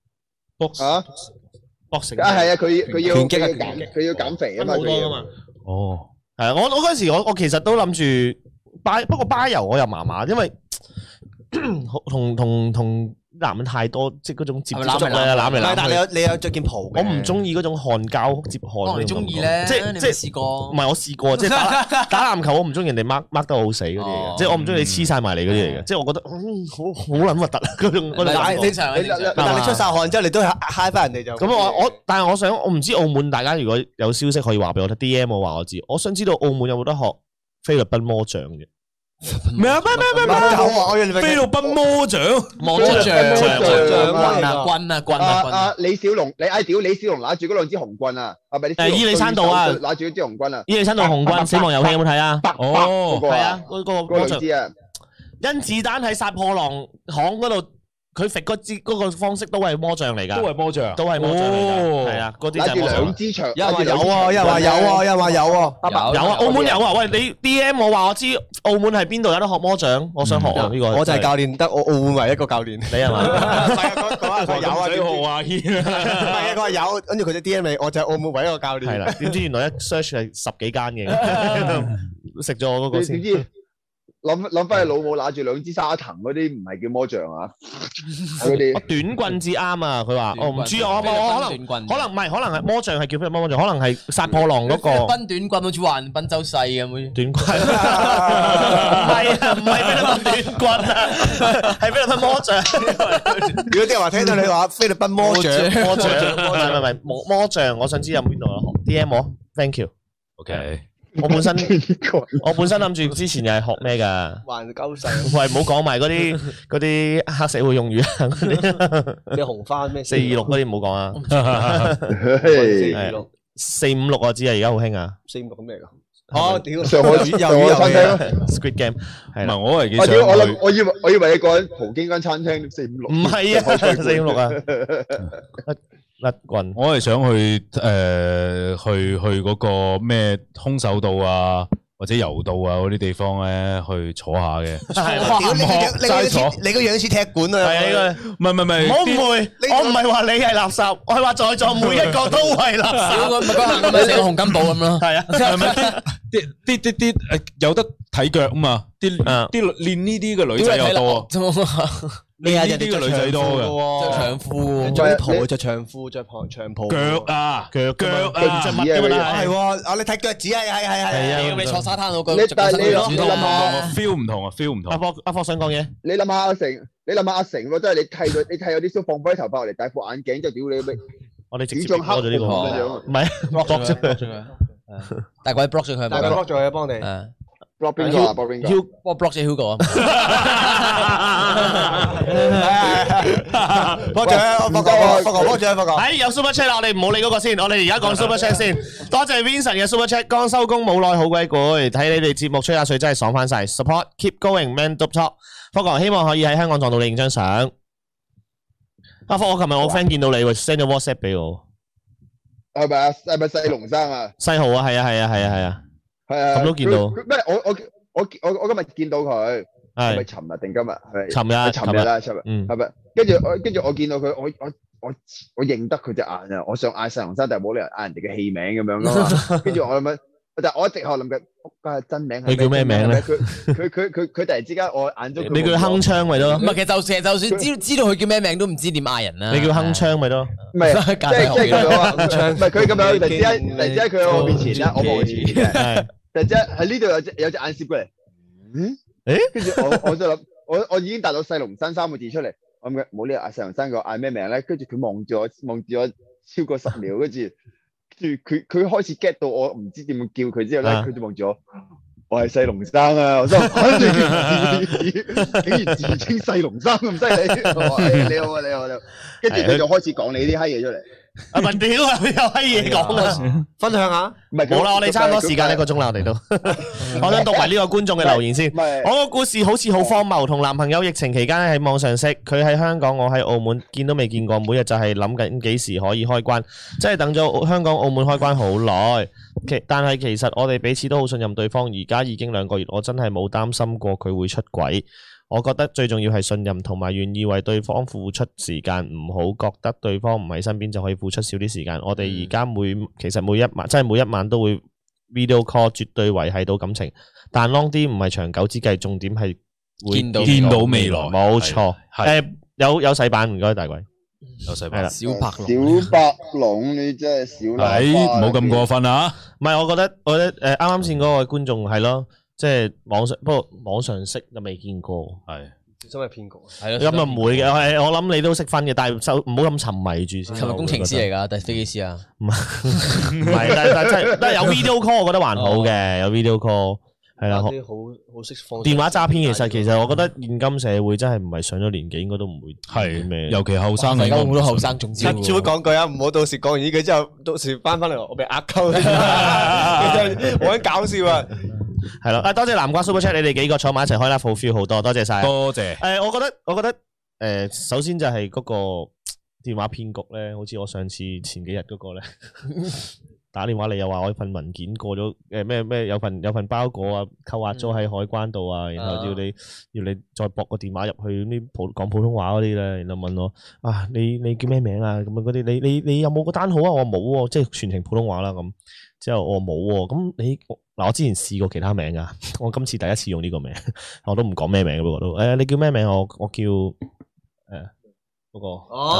，box 啊 boxing 啊係啊，佢佢要拳擊啊佢要減佢要減肥啊嘛， 好佢要多噶嘛。 哦， 係啊，我我嗰陣時我我其實都諗住巴，不過巴油我又麻麻，因為同同同男人太多，即係嗰種接觸咧，攬嚟唔係，但係你攬去。 有你有着件袍嘅。 我唔中意嗰種汗膠接汗。 可能你中意咧， 即係即係你未試過唔係我試過，即係打打籃球，我唔中意人哋 mark mark 得好死嗰啲嚟哦嘅，即係我唔中意你黐晒埋嚟嗰啲嚟嘅，即係我覺得嗯好好撚核突啊嗰種嗰種唔係感覺。 正常嘅你正常但係你出晒汗之後，你都係嗨翻人哋就。 咁我我，但係我想，我唔知澳門大家如果有消息可以話俾我聽，D M 我話我知。我想知道澳門有冇得學菲律賓魔杖嘅？ 咩啊？咩咩咩咩？ 有啊，我以為菲律賓魔杖， 魔杖杖棍啊棍啊棍啊啊棍啊！ 啊李小龍，你嗌屌李小龍拿住嗰兩支紅棍啊，係咪你小龍誒伊利山道啊拿住一支紅棍啊， 伊利山道紅棍死亡遊戲有冇睇啊？ 哦嗰個係啊，嗰個嗰魔杖兩支啊， 甄子丹喺殺破狼行嗰度，佢揈嗰支嗰個方式都係魔杖嚟㗎， 都係魔杖， 都係魔杖嚟㗎， 哦係啊，嗰啲就拿住係魔杖兩。支長， 有人話有拿住兩支啊，有人話有啊，有人話有啊。 有有啊，澳門有啊！喂，你 D M 我話我知澳門係邊度有得學魔杖，我想學啊呢個。 我就係教練，得我澳門唯一一個教練。 你係嘛？ 唔係啊，佢佢話佢有啊， 唔使學阿軒唔係啊，佢話有，跟住佢就 D M 你，我就係澳門唯一一個教練。 係啦，點知原來一 search 係十幾間嘅，食咗我嗰個先你點。知諗諗翻你老母拿住兩支沙藤嗰啲唔係叫魔杖啊？嗰啲我短棍至啱啊！佢話：我唔知啊，我我可能能可能唔係，可能係魔杖係叫咩魔杖？可能係殺破狼嗰個賓短棍好似話人賓州細咁好似。 短棍。唔係啊，唔係菲律賓短棍啊，係菲律賓魔杖。 如果啲人話聽到你話菲律賓魔杖， 魔杖，唔係唔係唔係魔魔杖，我想知有邊度有學 D M 我 ，thank you。 ，OK， 我本身我本身諗住之前又係學咩㗎？ 還鳩細， 喂，唔好講埋嗰啲嗰啲黑社會用語啊，嗰啲咩紅花咩四二六嗰啲唔好講啊。 四二六四五六我知啊，而家好興啊四五六咁咩㗎？哦，屌！ 上海魷魚上海餐廳咯。 ，Squid Game 係啦， 唔係我係幾我想屌我諗去， 我以為我以為你講緊葡京間餐廳四五六， 唔係啊，四五六啊，甩棍。 我係想去誒去去嗰個咩空手道啊，或者柔道啊嗰啲地方咧去坐下嘅。 屌你個樣，你個樣齋坐似你個樣似踢館啊！ 係啊， 唔係唔係唔係， 唔好誤會，我唔係話你係垃圾，我係話在座每一個都係垃圾。 屌佢咪嗰行咁咪成個洪金寶咁咯。 係啊， 係咪啲啲啲啲誒有得睇腳啊嘛？啲啊啲練呢啲嘅女仔又多， 你啊， 呢啲嘅女仔多嘅。 着長褲， 着啲袍，着長褲，着長長袍。 腳啊，腳腳啊， 着乜㗎嘛？ 係喎，啊你睇腳趾係係係係。 係啊你坐沙灘度， 你但係你諗你你諗下， feel 唔同啊，feel 唔同阿。科阿科想講嘢， 你諗下阿成，你諗下阿成喎，真係你剃咗你剃咗啲鬚，放翻啲頭髮落嚟，戴副眼鏡，就屌你咩？ 我哋直接點像黑 block 咗呢個， 咁樣唔係 block 咗佢，block 咗佢，大鬼 block 咗佢， 大家 block 咗佢，幫你。 誒， block 邊個啊？block 邊個？ Hugo 我 block 咗 Hugo 啊， 幫獎，幫個，幫個，幫獎，幫個。 係有 super chat 啦，我哋唔好理嗰個先，我哋而家講 super chat 先。多謝 Vincent 嘅 super chat，剛收工冇耐好鬼攰，睇你哋節目吹下水真係爽翻晒。Support keep going man up top，福哥希望可以喺香港撞到你影張相。阿福，我琴日我 friend 見到你喎 ，send 咗 WhatsApp 俾我。 係咪啊？係咪細龍生啊？ 西豪啊，係啊，係啊，係啊，係啊， 係啊。 咁都見到佢佢咩？我我我我我今日見到佢，係咪係尋日定今日？係尋日係尋日啦，尋日。 嗯係咪？跟住我跟住我見到佢，我我我我認得佢隻眼啊！我想嗌細龍生，但係冇理由嗌人哋嘅戲名咁樣噶嘛。跟住我諗緊，但係我一直喺度諗緊，仆街真名係咩佢叫咩名咧佢佢佢佢佢突然之間我眼中佢你叫佢鏗鏘咪得咯唔，係其實就其實就算知知道佢叫咩名都唔知點嗌人啦。 你叫鏗鏘咪得咯。 唔係即架係即係咁樣啊！ 鏗鏘唔係佢咁樣，突然之間突然之間佢喺我面前咧，我望佢前面嘅。 係突然之間喺呢度有隻有隻眼攝過嚟，嗯？ 誒跟住我我就諗，我我已經答到細龍山三個字出嚟，我諗緊冇理由嗌細龍山個嗌咩名咧？跟住佢望住我望住我超過十秒，跟住跟住佢佢開始 get 到我唔知點樣叫佢之後咧， 啊佢就望住我，我係細龍生啊！我心諗嚇你竟然自稱細龍生咁犀利，我話誒你好啊你好你好，跟住佢就開始講你啲閪嘢出嚟。 啊文屌啊，有閪嘢講啊！ 分享下， 唔係冇啦，我哋差唔多時間一個鐘啦，我哋都。我想讀埋呢個觀眾嘅留言先。我個故事好似好荒謬，同男朋友疫情期間喺網上識，佢喺香港，我喺澳門，見都未見過，每日就係諗緊幾時可以開關，即係等咗香港、澳門開關好耐。其但係其實我哋彼此都好信任對方，而家已經兩個月，我真係冇擔心過佢會出軌。我覺得最重要係信任同埋願意為對方付出時間，唔好覺得對方唔喺身邊就可以付出少啲時間。我哋而家每其實每一晚，即係每一晚都會 video call，絕對維繫到感情。但 long 啲唔係長久之計，重點係會見到見到未來。 冇錯。誒，有有洗版唔該，大鬼。 有洗版。 小白龍。 小白龍，你真係小喇叭。 係，唔好咁過分啊！ 唔係，我覺得我覺得誒啱啱先嗰位觀眾係咯。即係網上，不過網上識就未見過，係真係騙局。 係咯， 咁又唔會嘅，我我諗你都識分嘅，但係就唔好咁沉迷住先。 係咪工程師嚟㗎？定係飛機師啊？ 唔係，唔係，但但真係，但係有 video call，我覺得還好嘅，有 video call 係啦。 好好識放。 電話詐騙其實其實我覺得現今社會真係唔係上咗年紀應該都唔會係咩， 尤其後生， 而家好多後生中招。 只會講句啊，唔好到時講完呢句之後，到時翻翻嚟我俾呃鳩，好鬼搞笑啊！ 係咯，啊多謝南瓜 Super Chat，你哋幾個坐埋一齊開啦，好 feel 好多，多謝晒， 多謝。 誒，我覺得我覺得誒，首先就係嗰個電話騙局咧，好似我上次前幾日嗰個咧，打電話嚟又話我份文件過咗，誒咩咩有份有份包裹啊，扣押咗喺海關度啊，然後要你要你再駁個電話入去啲普講普通話嗰啲咧，然後問我啊你你叫咩名啊咁樣嗰啲，你你你有冇個單號啊？我冇喎，即係全程普通話啦咁。之後我冇喎，咁你嗱我之前試過其他名噶，我今次第一次用呢個名，我都唔講咩名嘅，不過都誒你叫咩名？我我叫誒嗰個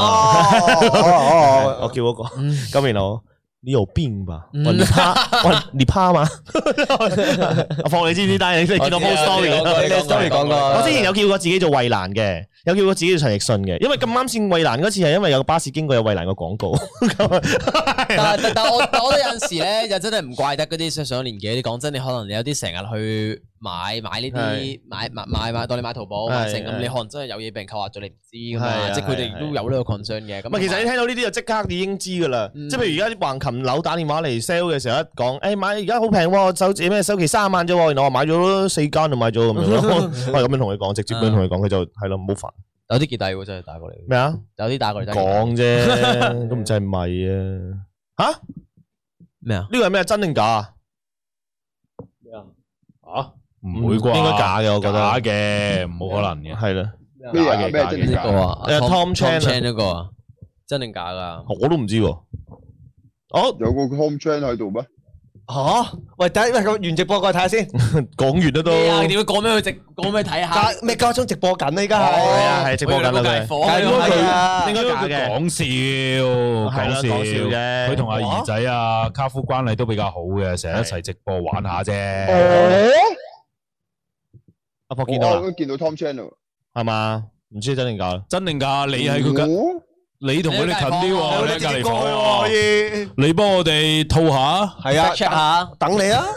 哦，我叫嗰個，咁然後你有病吧？你怕喂你怕嘛？我放你知唔知？但係你見到 post story，story 講過，我之前有叫過自己做衛蘭嘅，有叫過自己做陳奕迅嘅，因為咁啱先衛蘭嗰次係因為有個巴士經過有衛蘭個廣告。 但係但係我但我覺得有陣時咧，又真係唔怪得嗰啲上上年紀。你講真，你可能你有啲成日去買買呢啲買買買買，當你買淘寶買成咁，你可能真係有嘢俾人扣押咗，你唔知噶嘛？即係佢哋都有呢個 concern 嘅。咁其實你聽到呢啲就即刻已經知噶啦。即係譬如而家啲橫琴樓打電話嚟 sell 嘅時候，一講誒買而家好平喎，首咩首期三萬啫，然後我買咗四間就買咗咁樣咯。我係咁樣同佢講，直接咁樣同佢講，佢就係咯，唔好煩。 有啲幾大喎，真係打過嚟。 咩啊？ 有啲打過嚟講啫，都唔知係咪啊？吓？咩啊？呢個係咩？真定假啊？ 咩啊？ 啊？唔會啩？ 應該假嘅，我覺得假嘅，冇可能嘅。 係啦， 咩啊？咩真定假啊？ 誒 ，Tom Chan 嗰個啊，真定假噶？ 我都唔知喎。哦， 有個 Tom Chan 喺度咩？ 吓？喂，等喂咁完直播過去睇下先。 講完啦都。 點解講咩去直？講咩睇下？ 咩家中直播緊啊？依家係。 係啊，係直播緊啦佢。 係啊， 應該假嘅。 講笑，講笑嘅。 佢同阿兒仔啊，卡夫關係都比較好嘅，成日一齊直播玩下啫。 阿博見到啦， 我見到 Tom Chan 咯， 係嘛？唔知真定假？ 真定假？你喺佢隔，你同佢哋近啲喎，你喺隔離房喎。你幫我哋套下， 係啊 check 下， 等你啊。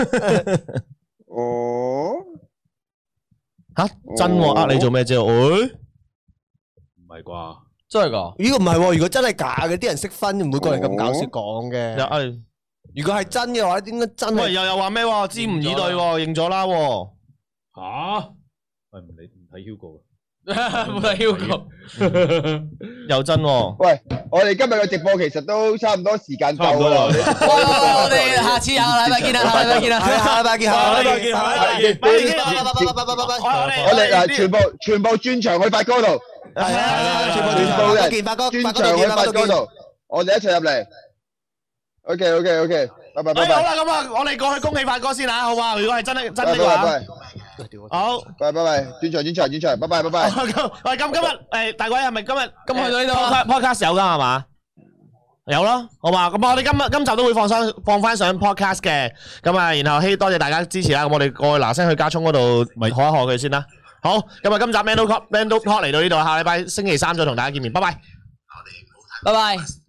哦， 吓真喎？呃你做咩啫？誒， 唔係啩？ 真係噶？ 如果唔係，如果真係假嘅，啲人識分，唔會過嚟咁搞笑講嘅。 誒， 如果係真嘅話，應該真係。 喂，又又話咩？知唔以對？認咗啦。 吓？喂，唔理唔睇 Hugo。 冇睇 Hugo， 又真喎。 喂，我哋今日嘅直播其實都差唔多時間夠啦。 我哋下次下個禮拜見啦，下個禮拜見啦， 下禮拜見，下禮拜見，下禮拜見。 我哋嗱，全部全部轉場去發哥度， 係啊，全部全部人見發哥， 轉場去發哥度，我哋一齊入嚟。OK OK OK，拜拜拜拜。 好啦，咁啊，我哋過去恭喜發哥先吓，好嘛？如果係真係真嘅話。好， 拜拜拜，轉場轉場轉場，拜拜拜拜。 喂，咁今日誒大鬼係咪今日咁去到呢度 podcast 有噶係嘛？有咯，好嘛？咁我哋今日今集都會放上放翻上 podcast 嘅，咁啊，然後希多謝大家支持啦。咁我哋過去嗱聲去加聰嗰度咪賀一賀佢先啦。好，咁啊，今集 Mando Talk Mando Talk 嚟到呢度，下禮拜星期三再同大家見面，拜拜。 拜拜。